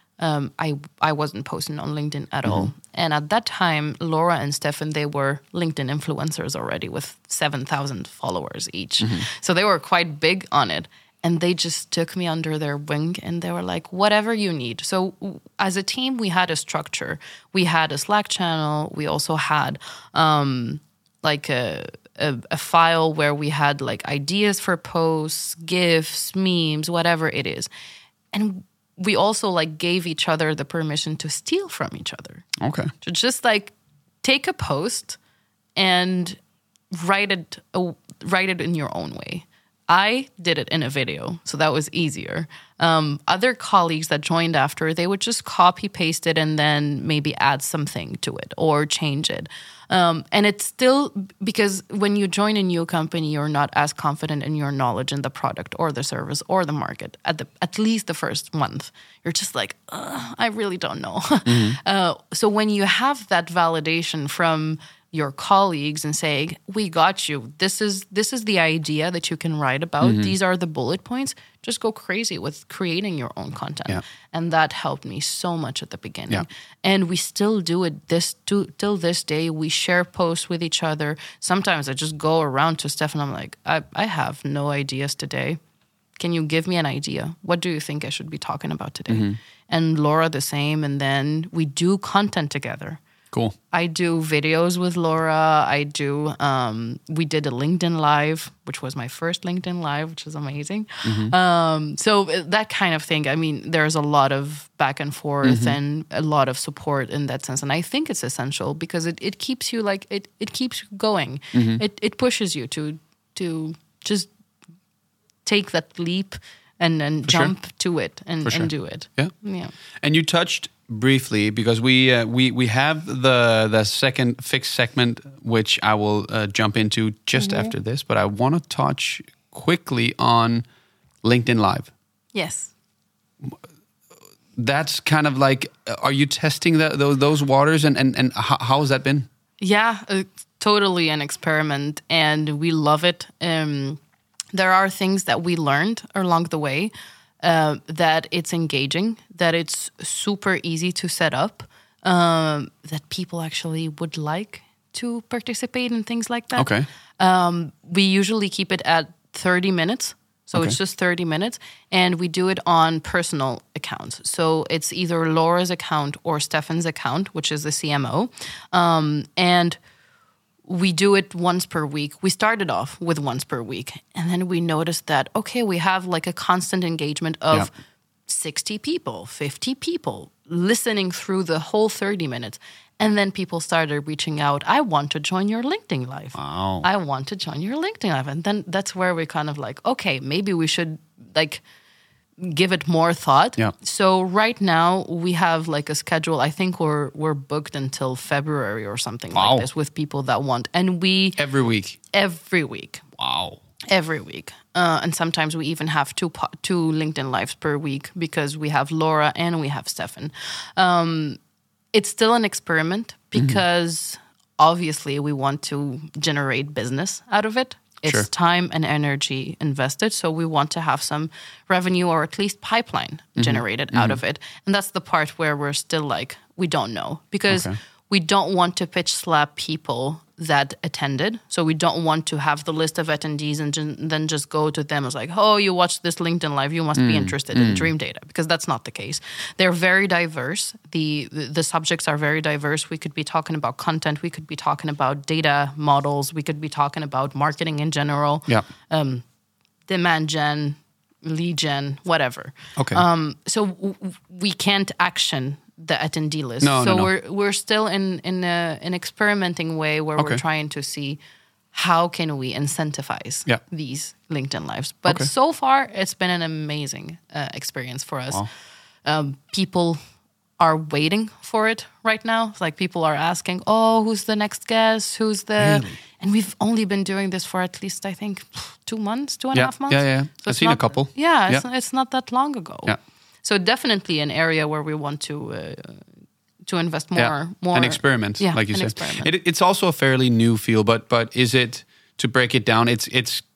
B: I wasn't posting on LinkedIn at all. And at that time, Laura and Stefan, they were LinkedIn influencers already with 7,000 followers each. So they were quite big on it. And they just took me under their wing and they were like, whatever you need. So as a team, we had a structure. We had a Slack channel. We also had like a file where we had like ideas for posts, GIFs, memes, whatever it is. And we also like gave each other the permission to steal from each other.
A: Okay.
B: To just like take a post and write it in your own way. I did it in a video, so that was easier. Other colleagues that joined after, they would just copy paste it and then maybe add something to it or change it. And it's still, because when you join a new company, you're not as confident in your knowledge in the product or the service or the market at least the first month. You're just like, I really don't know. So when you have that validation from your colleagues and say, we got you. This is the idea that you can write about. These are the bullet points. Just go crazy with creating your own content.
A: Yeah.
B: And that helped me so much at the beginning.
A: Yeah.
B: And we still do it till this day. We share posts with each other. Sometimes I just go around to Steph and I'm like, I have no ideas today. Can you give me an idea? What do you think I should be talking about today? And Laura the same. And then we do content together.
A: Cool.
B: I do videos with Laura. We did a LinkedIn Live, which was my first LinkedIn Live, which is amazing. So that kind of thing. I mean, there's a lot of back and forth and a lot of support in that sense. And I think it's essential because it keeps you it keeps you going. It pushes you to just take that leap and jump to it and do it.
A: Yeah. And you touched briefly because we have the second fixed segment, which I will jump into just after this. But I want to touch quickly on LinkedIn Live.
B: Yes.
A: That's kind of like, are you testing those waters and how has that been?
B: Yeah, totally an experiment, and we love it. There are things that we learned along the way, that it's engaging, that it's super easy to set up, that people actually would like to participate in things like that.
A: Okay.
B: We usually keep it at 30 minutes. So it's just 30 minutes. And we do it on personal accounts. So it's either Laura's account or Stefan's account, which is the CMO. And we do it once per week. We started off with once per week. And then we noticed that, okay, we have like a constant engagement of 60 people, 50 people listening through the whole 30 minutes. And then people started reaching out, I want to join your LinkedIn Live.
A: Wow.
B: I want to join your LinkedIn Live. And then that's where we kind of like, okay, maybe we should like give it more thought.
A: Yeah.
B: So right now we have like a schedule. I think we're booked until February or something like this with people that want. And we...
A: Every week?
B: Every week.
A: Wow.
B: Every week. And sometimes we even have two LinkedIn Lives per week because we have Laura and we have Stefan. It's still an experiment because obviously we want to generate business out of it. It's time and energy invested. So we want to have some revenue or at least pipeline generated out of it. And that's the part where we're still like, we don't know because we don't want to pitch slap people that attended. So we don't want to have the list of attendees and then just go to them as like, oh, you watched this LinkedIn Live, you must be interested in Dream Data, because that's not the case. They're very diverse. The subjects are very diverse. We could be talking about content. We could be talking about data models. We could be talking about marketing in general. Yeah. Demand gen, lead gen, whatever.
A: Okay.
B: So we can't action the attendee list.
A: No.
B: We're still in an experimenting way where we're trying to see how can we incentivize these LinkedIn Lives. But so far, it's been an amazing experience for us. Wow. People are waiting for it right now. It's like people are asking, oh, who's the next guest? Who's the... Really? And we've only been doing this for at least, I think, 2 months, 2.5 months.
A: Yeah.
B: So
A: I've seen a couple.
B: Yeah, it's not that long ago.
A: Yeah.
B: So definitely an area where we want to invest more.
A: An experiment, like you said. It's also a fairly new field, but is it, to break it down, is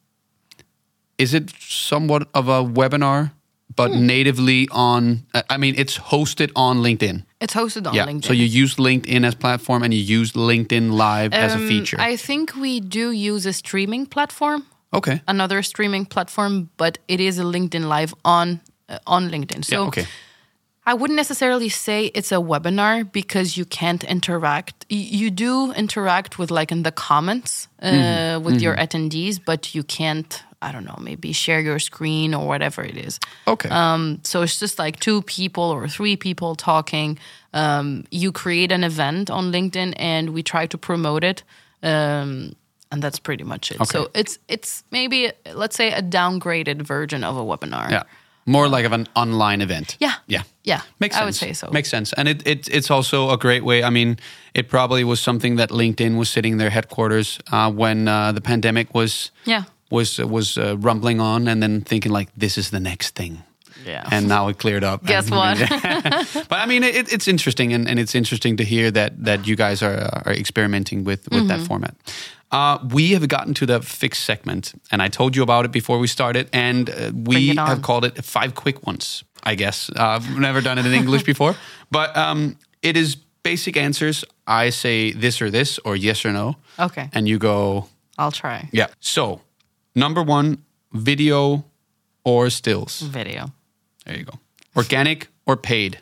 A: it somewhat of a webinar, but natively on, it's hosted on LinkedIn? It's hosted on LinkedIn. So you use LinkedIn as platform and you use LinkedIn Live as a feature? I
B: think we do use a streaming platform.
A: Okay.
B: Another streaming platform, but it is a LinkedIn Live on LinkedIn. So I wouldn't necessarily say it's a webinar because you can't interact. You do interact with like in the comments with your attendees, but you can't, I don't know, maybe share your screen or whatever it is.
A: Okay.
B: So it's just like 2 people or 3 people talking. You create an event on LinkedIn and we try to promote it. And that's pretty much it. So it's maybe, let's say, a downgraded version of a webinar.
A: Yeah. More like of an online event.
B: Yeah.
A: Makes sense.
B: I would say so.
A: Makes sense. And it's also a great way. I mean, it probably was something that LinkedIn was sitting their headquarters when the pandemic was rumbling on, and then thinking like, this is the next thing.
B: Yeah.
A: And now it cleared up.
B: Guess what?
A: But I mean, it's interesting, and it's interesting to hear that you guys are experimenting with that format. We have gotten to the fixed segment, and I told you about it before we started, and we have called it 5 quick ones, I guess. I've never done it in English before, but it is basic answers. I say this or yes or no.
B: Okay.
A: And you go...
B: I'll try.
A: Yeah. So, number 1, video or stills?
B: Video.
A: There you go. Organic or paid?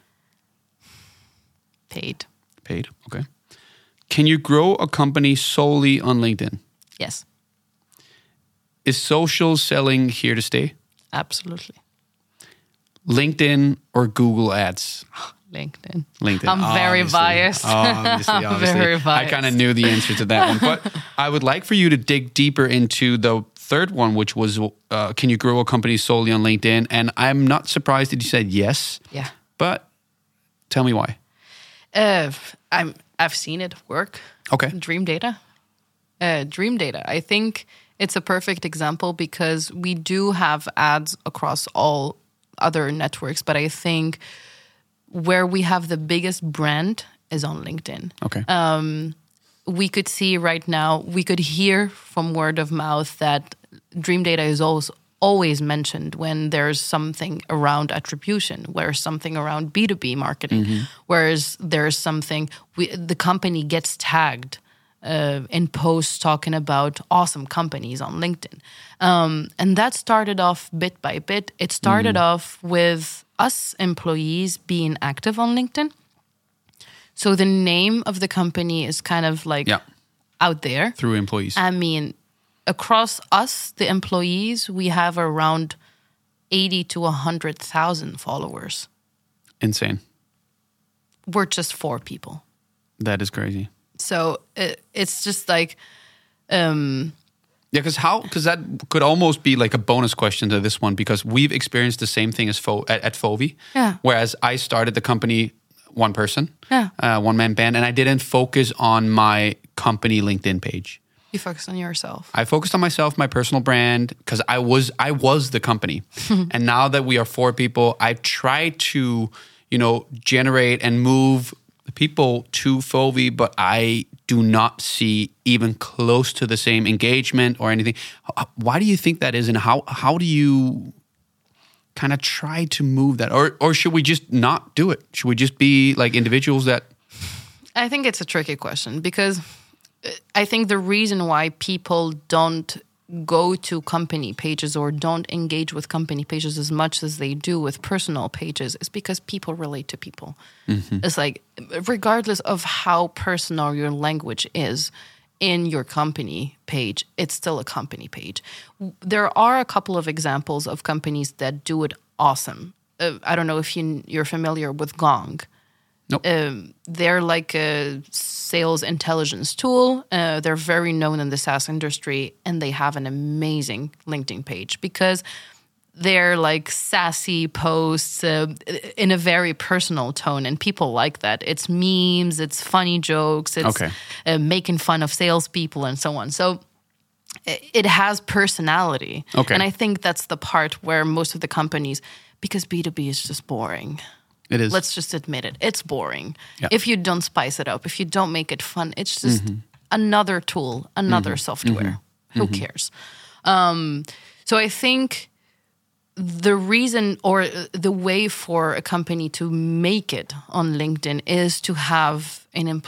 B: Paid.
A: Paid, okay. Can you grow a company solely on LinkedIn?
B: Yes.
A: Is social selling here to stay?
B: Absolutely.
A: LinkedIn or Google Ads?
B: LinkedIn.
A: I'm
B: very biased.
A: Obviously.
B: Very biased.
A: I kind of knew the answer to that one. But I would like for you to dig deeper into the third one, which was, can you grow a company solely on LinkedIn? And I'm not surprised that you said yes.
B: Yeah.
A: But tell me why.
B: I've seen it work.
A: Okay.
B: Dream Data. Dream Data. I think it's a perfect example because we do have ads across all other networks, but I think where we have the biggest brand is on LinkedIn.
A: Okay.
B: We could see right now, we could hear from word of mouth that Dream Data is always mentioned when there's something around attribution, where something around B2B marketing, whereas there's something, the company gets tagged in posts talking about awesome companies on LinkedIn. And that started off bit by bit. It started off with us employees being active on LinkedIn. So the name of the company is kind of like out there.
A: Through employees.
B: I mean, across us, the employees, we have around 80 to 100,000 followers.
A: Insane.
B: We're just 4 people.
A: That is crazy.
B: So it's just like...
A: because that could almost be like a bonus question to this one, because we've experienced the same thing as at Fovi.
B: Yeah.
A: Whereas I started the company one person,
B: Yeah.
A: one-man band, and I didn't focus on my company LinkedIn page.
B: You focus on yourself.
A: I focused on myself, my personal brand, because I was the company. And now that we are 4 people, I've tried to, generate and move people to Fovi, but I do not see even close to the same engagement or anything. Why do you think that is, and how do you kind of try to move that? Or should we just not do it? Should we just be like individuals that...
B: I think it's a tricky question, because I think the reason why people don't go to company pages or don't engage with company pages as much as they do with personal pages is because people relate to people. It's like, regardless of how personal your language is in your company page, it's still a company page. There are a couple of examples of companies that do it awesome. I don't know if you're familiar with Gong.
A: Nope.
B: They're like a sales intelligence tool. They're very known in the SaaS industry, and they have an amazing LinkedIn page because they're like sassy posts in a very personal tone, and people like that. It's memes, it's funny jokes, it's making fun of salespeople and so on. So it has personality.
A: Okay.
B: And I think that's the part where most of the companies, because B2B is just boring.
A: It is.
B: Let's just admit it. It's boring.
A: Yeah.
B: If you don't spice it up, if you don't make it fun, it's just another tool, another software. Who cares? So I think the reason or the way for a company to make it on LinkedIn is to have an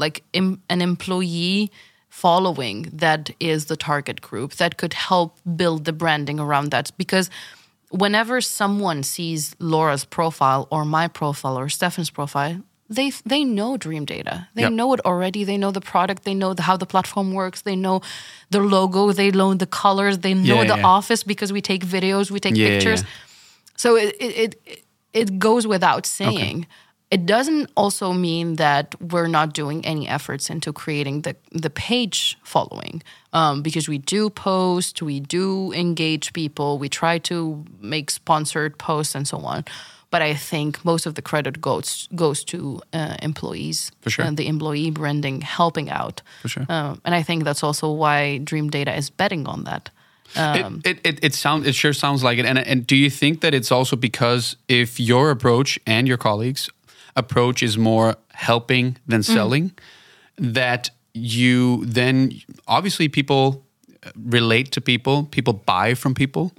B: employee following that is the target group that could help build the branding around that. Because whenever someone sees Laura's profile or my profile or Stefan's profile, they know Dream Data. They know it already. They know the product. They know how the platform works. They know the logo. They know the colors. They know the office because we take videos, we take pictures. So it goes without saying. Okay. It doesn't also mean that we're not doing any efforts into creating the page following, because we do post, we do engage people, we try to make sponsored posts and so on. But I think most of the credit goes to employees.
A: For sure.
B: And the employee branding helping out.
A: For sure.
B: And I think that's also why Dream Data is betting on that.
A: It sure sounds like it. And do you think that it's also because if your approach and your colleagues' approach is more helping than selling, that you then obviously people relate to people buy from people,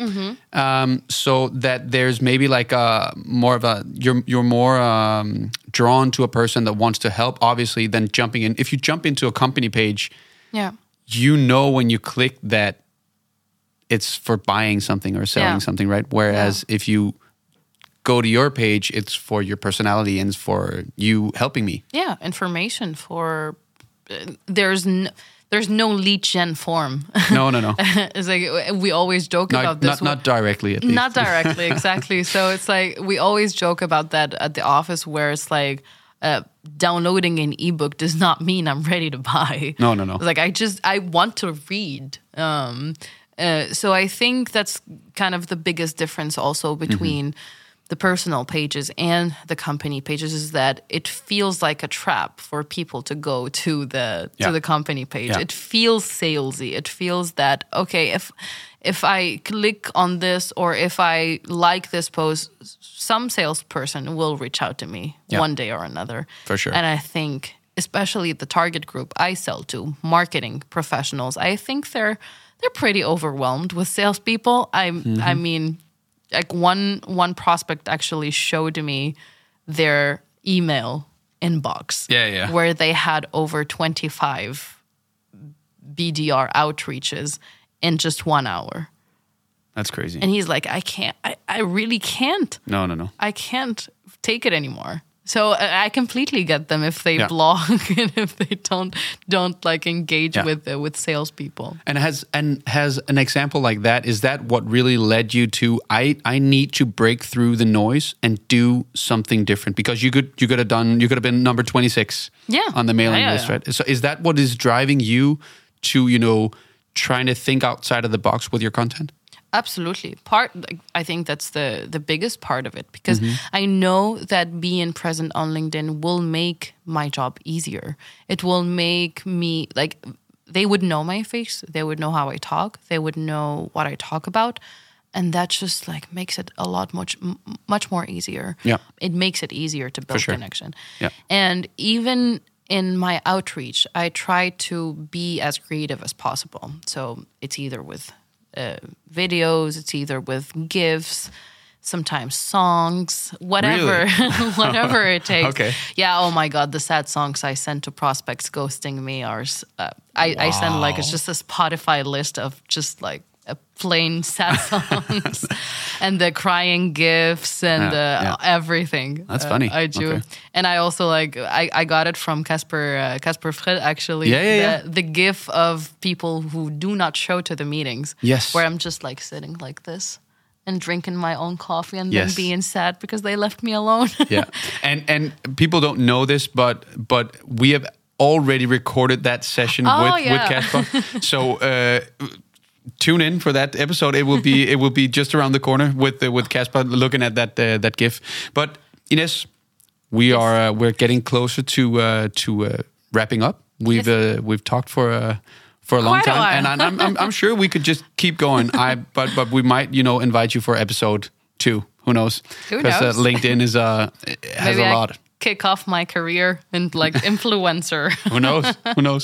A: so that there's maybe like a more of a you're more drawn to a person that wants to help, obviously, than jumping in. If you jump into a company page, you know when you click that it's for buying something or selling something, right? Whereas if you go to your page, it's for your personality and it's for you helping me.
B: Yeah, information for there's no lead gen form.
A: No.
B: It's like we always joke about this.
A: Not directly, at least.
B: Not directly, exactly. So it's like we always joke about that at the office, where it's like downloading an ebook does not mean I'm ready to buy.
A: No.
B: It's like I want to read. So I think that's kind of the biggest difference also between the personal pages and the company pages, is that it feels like a trap for people to go to the company page.
A: Yeah.
B: It feels salesy. It feels that, okay, if I click on this or if I like this post, some salesperson will reach out to me one day or another.
A: For sure.
B: And I think, especially the target group I sell to, marketing professionals, I think they're pretty overwhelmed with salespeople. I mean, like one prospect actually showed me their email inbox, where they had over 25 BDR outreaches in just 1 hour.
A: That's crazy.
B: And he's like, I really can't.
A: No.
B: I can't take it anymore. So I completely get them if they blog and if they don't like engage with salespeople.
A: And has an example like that, is that what really led you to I need to break through the noise and do something different? Because you could have been number 26 on the mailing list, right? So is that what is driving you to trying to think outside of the box with your content?
B: Absolutely. I think that's the biggest part of it, because I know that being present on LinkedIn will make my job easier. It will make me, like, they would know my face, they would know how I talk, they would know what I talk about, and that just like makes it a lot much more easier.
A: Yeah.
B: It makes it easier to build connection.
A: Yeah.
B: And even in my outreach, I try to be as creative as possible. So it's either with videos, it's either with GIFs, sometimes songs, whatever,
A: Really?
B: whatever it takes.
A: Okay.
B: Yeah. Oh my God, the sad songs I send to prospects ghosting me are. I send like, it's just a Spotify list of just like a plain sad songs, and the crying GIFs and everything.
A: That's funny.
B: I do, and I also like I got it from Casper Fred actually. The GIF of people who do not show to the meetings.
A: Yes,
B: where I'm just like sitting like this and drinking my own coffee and then being sad because they left me alone.
A: and people don't know this, but we have already recorded that session with Casper. So. Tune in for that episode. It will be just around the corner with Casper looking at that GIF. But Ines, we're getting closer to wrapping up. We've talked for a long time, and I'm sure we could just keep going. But we might invite you for episode 2. Who knows? Because LinkedIn has a lot.
B: Kick off my career and like influencer.
A: Who knows?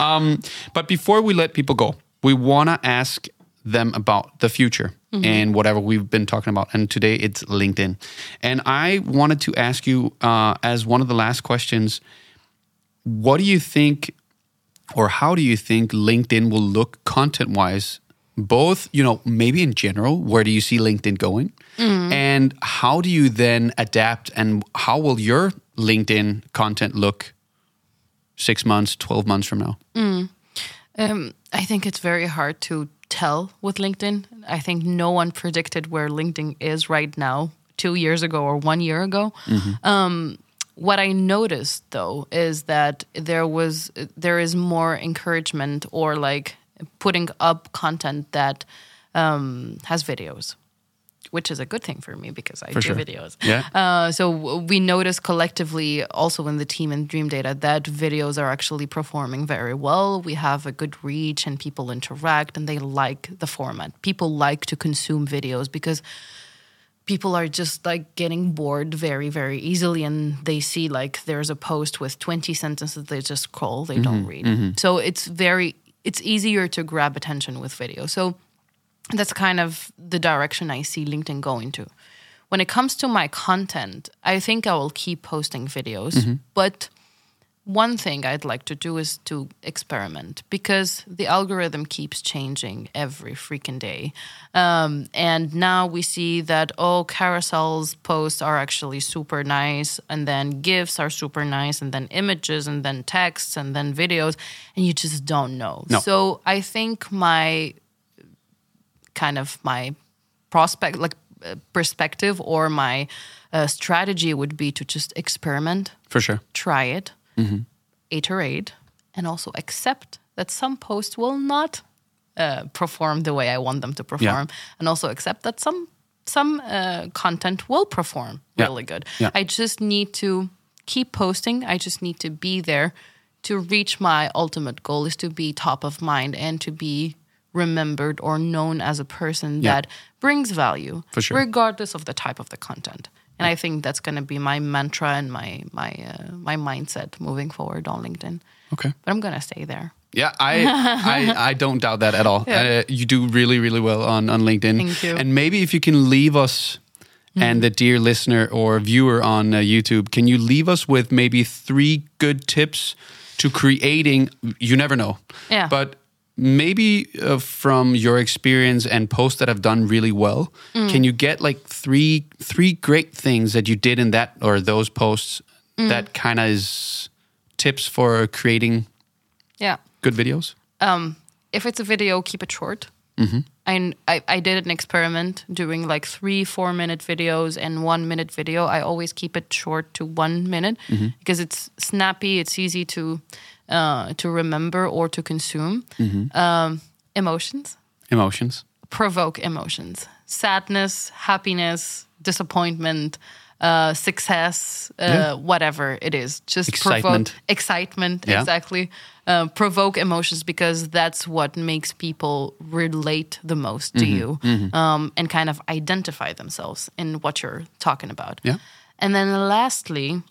A: But before we let people go, we want to ask them about the future and whatever we've been talking about. And today it's LinkedIn. And I wanted to ask you, as one of the last questions, what do you think, or how do you think LinkedIn will look content-wise? Both, maybe in general, where do you see LinkedIn going? And how do you then adapt, and how will your LinkedIn content look 6 months, 12 months from now?
B: I think it's very hard to tell with LinkedIn. I think no one predicted where LinkedIn is right now 2 years ago or 1 year ago. What I noticed, though, is that there is more encouragement, or like putting up content that has videos. which is a good thing for me because I
A: For
B: do
A: sure.
B: videos.
A: Yeah.
B: So we notice collectively also in the team in Dream Data that videos are actually performing very well. We have a good reach and people interact and they like the format. People like to consume videos because people are just like getting bored very, very easily, and they see like there's a post with 20 sentences, they just scroll, they don't read. So it's easier to grab attention with video. So that's kind of the direction I see LinkedIn going to. When it comes to my content, I think I will keep posting videos, but one thing I'd like to do is to experiment because the algorithm keeps changing every freaking day. And now we see that, carousels posts are actually super nice, and then GIFs are super nice, and then images, and then texts, and then videos, and you just don't know.
A: No.
B: So I think my perspective or my strategy would be to just experiment.
A: For sure.
B: Try it. Iterate, and also accept that some posts will not perform the way I want them to perform, and also accept that some content will perform really good.
A: Yeah.
B: I just need to keep posting. I just need to be there to reach my ultimate goal is to be top of mind and to be remembered or known as a person that brings value,
A: For sure.
B: regardless of the type of the content. And I think that's going to be my mantra and my mindset moving forward on LinkedIn.
A: Okay.
B: But I'm going to stay there.
A: Yeah, I don't doubt that at all.
B: Yeah.
A: You do really, really well on LinkedIn.
B: Thank you.
A: And maybe if you can leave us and the dear listener or viewer on YouTube, can you leave us with maybe 3 good tips to creating, you never know, but maybe from your experience and posts that have done really well, can you get like 3 great things that you did in that or those posts that kind of is tips for creating good videos?
B: If it's a video, keep it short. I did an experiment doing like 3-4 minute videos and 1 minute video. I always keep it short to 1 minute because it's snappy. It's easy to remember or to consume. Emotions. Provoke emotions. Sadness, happiness, disappointment, success, whatever it is. Just
A: excitement.
B: Excitement, exactly. Provoke emotions because that's what makes people relate the most to you and kind of identify themselves in what you're talking about.
A: Yeah.
B: And then lastly,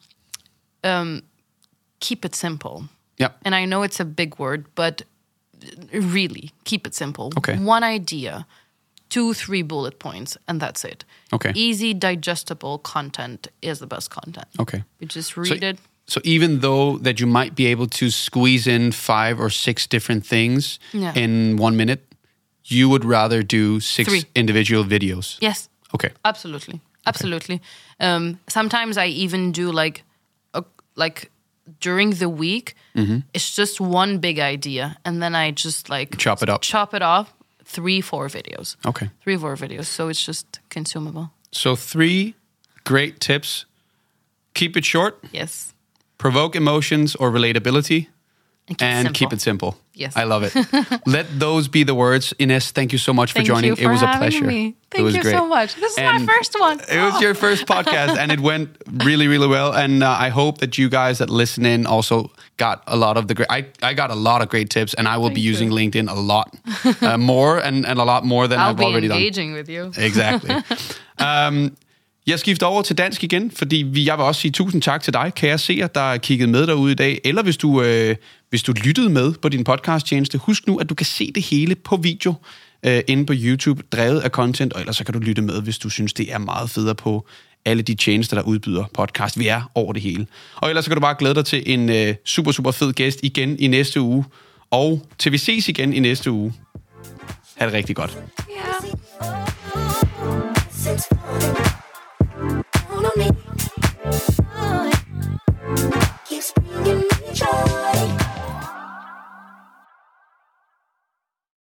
B: keep it simple.
A: Yeah.
B: And I know it's a big word, but really, keep it simple.
A: Okay.
B: 1 idea, 2-3 bullet points, and that's it.
A: Okay.
B: Easy, digestible content is the best content.
A: Okay.
B: You just read it.
A: So even though that you might be able to squeeze in 5 or 6 different things in 1 minute, you would rather do 6 individual videos?
B: Yes.
A: Okay.
B: Absolutely. Sometimes I even do like during the week, it's just 1 big idea, and then I just like
A: chop it
B: off 3-4 videos.
A: Okay.
B: 3-4 videos, so it's just consumable.
A: So 3 great tips. Keep it short.
B: Yes.
A: Provoke emotions or relatability.
B: And
A: keep it simple.
B: Yes.
A: I love it. Let those be the words. Ines, thank you so much for joining.
B: It
A: was a pleasure.
B: Me.
A: It was
B: you
A: great.
B: so much. This is my first one.
A: It was your first podcast, and it went really, really well. And I hope that you guys that listen in also got a lot of the great... I got a lot of great tips, and I will be using LinkedIn a lot more, and a lot more than I've already done.
B: I'll be engaging with you.
A: Exactly. Jeg skifter over til dansk igen, fordi jeg vil også sige tusind tak til dig, kære seer, der er kigget med derude i dag. Eller hvis du lyttede med på din podcasttjeneste, husk nu, at du kan se det hele på video inde på YouTube, drevet af content, og ellers så kan du lytte med, hvis du synes, det er meget federe på alle de tjenester, der udbyder podcast. Vi er over det hele. Og ellers så kan du bare glæde dig til en super, super fed gæst igen i næste uge. Og til vi ses igen i næste uge. Ha' det rigtig godt.
B: Ja.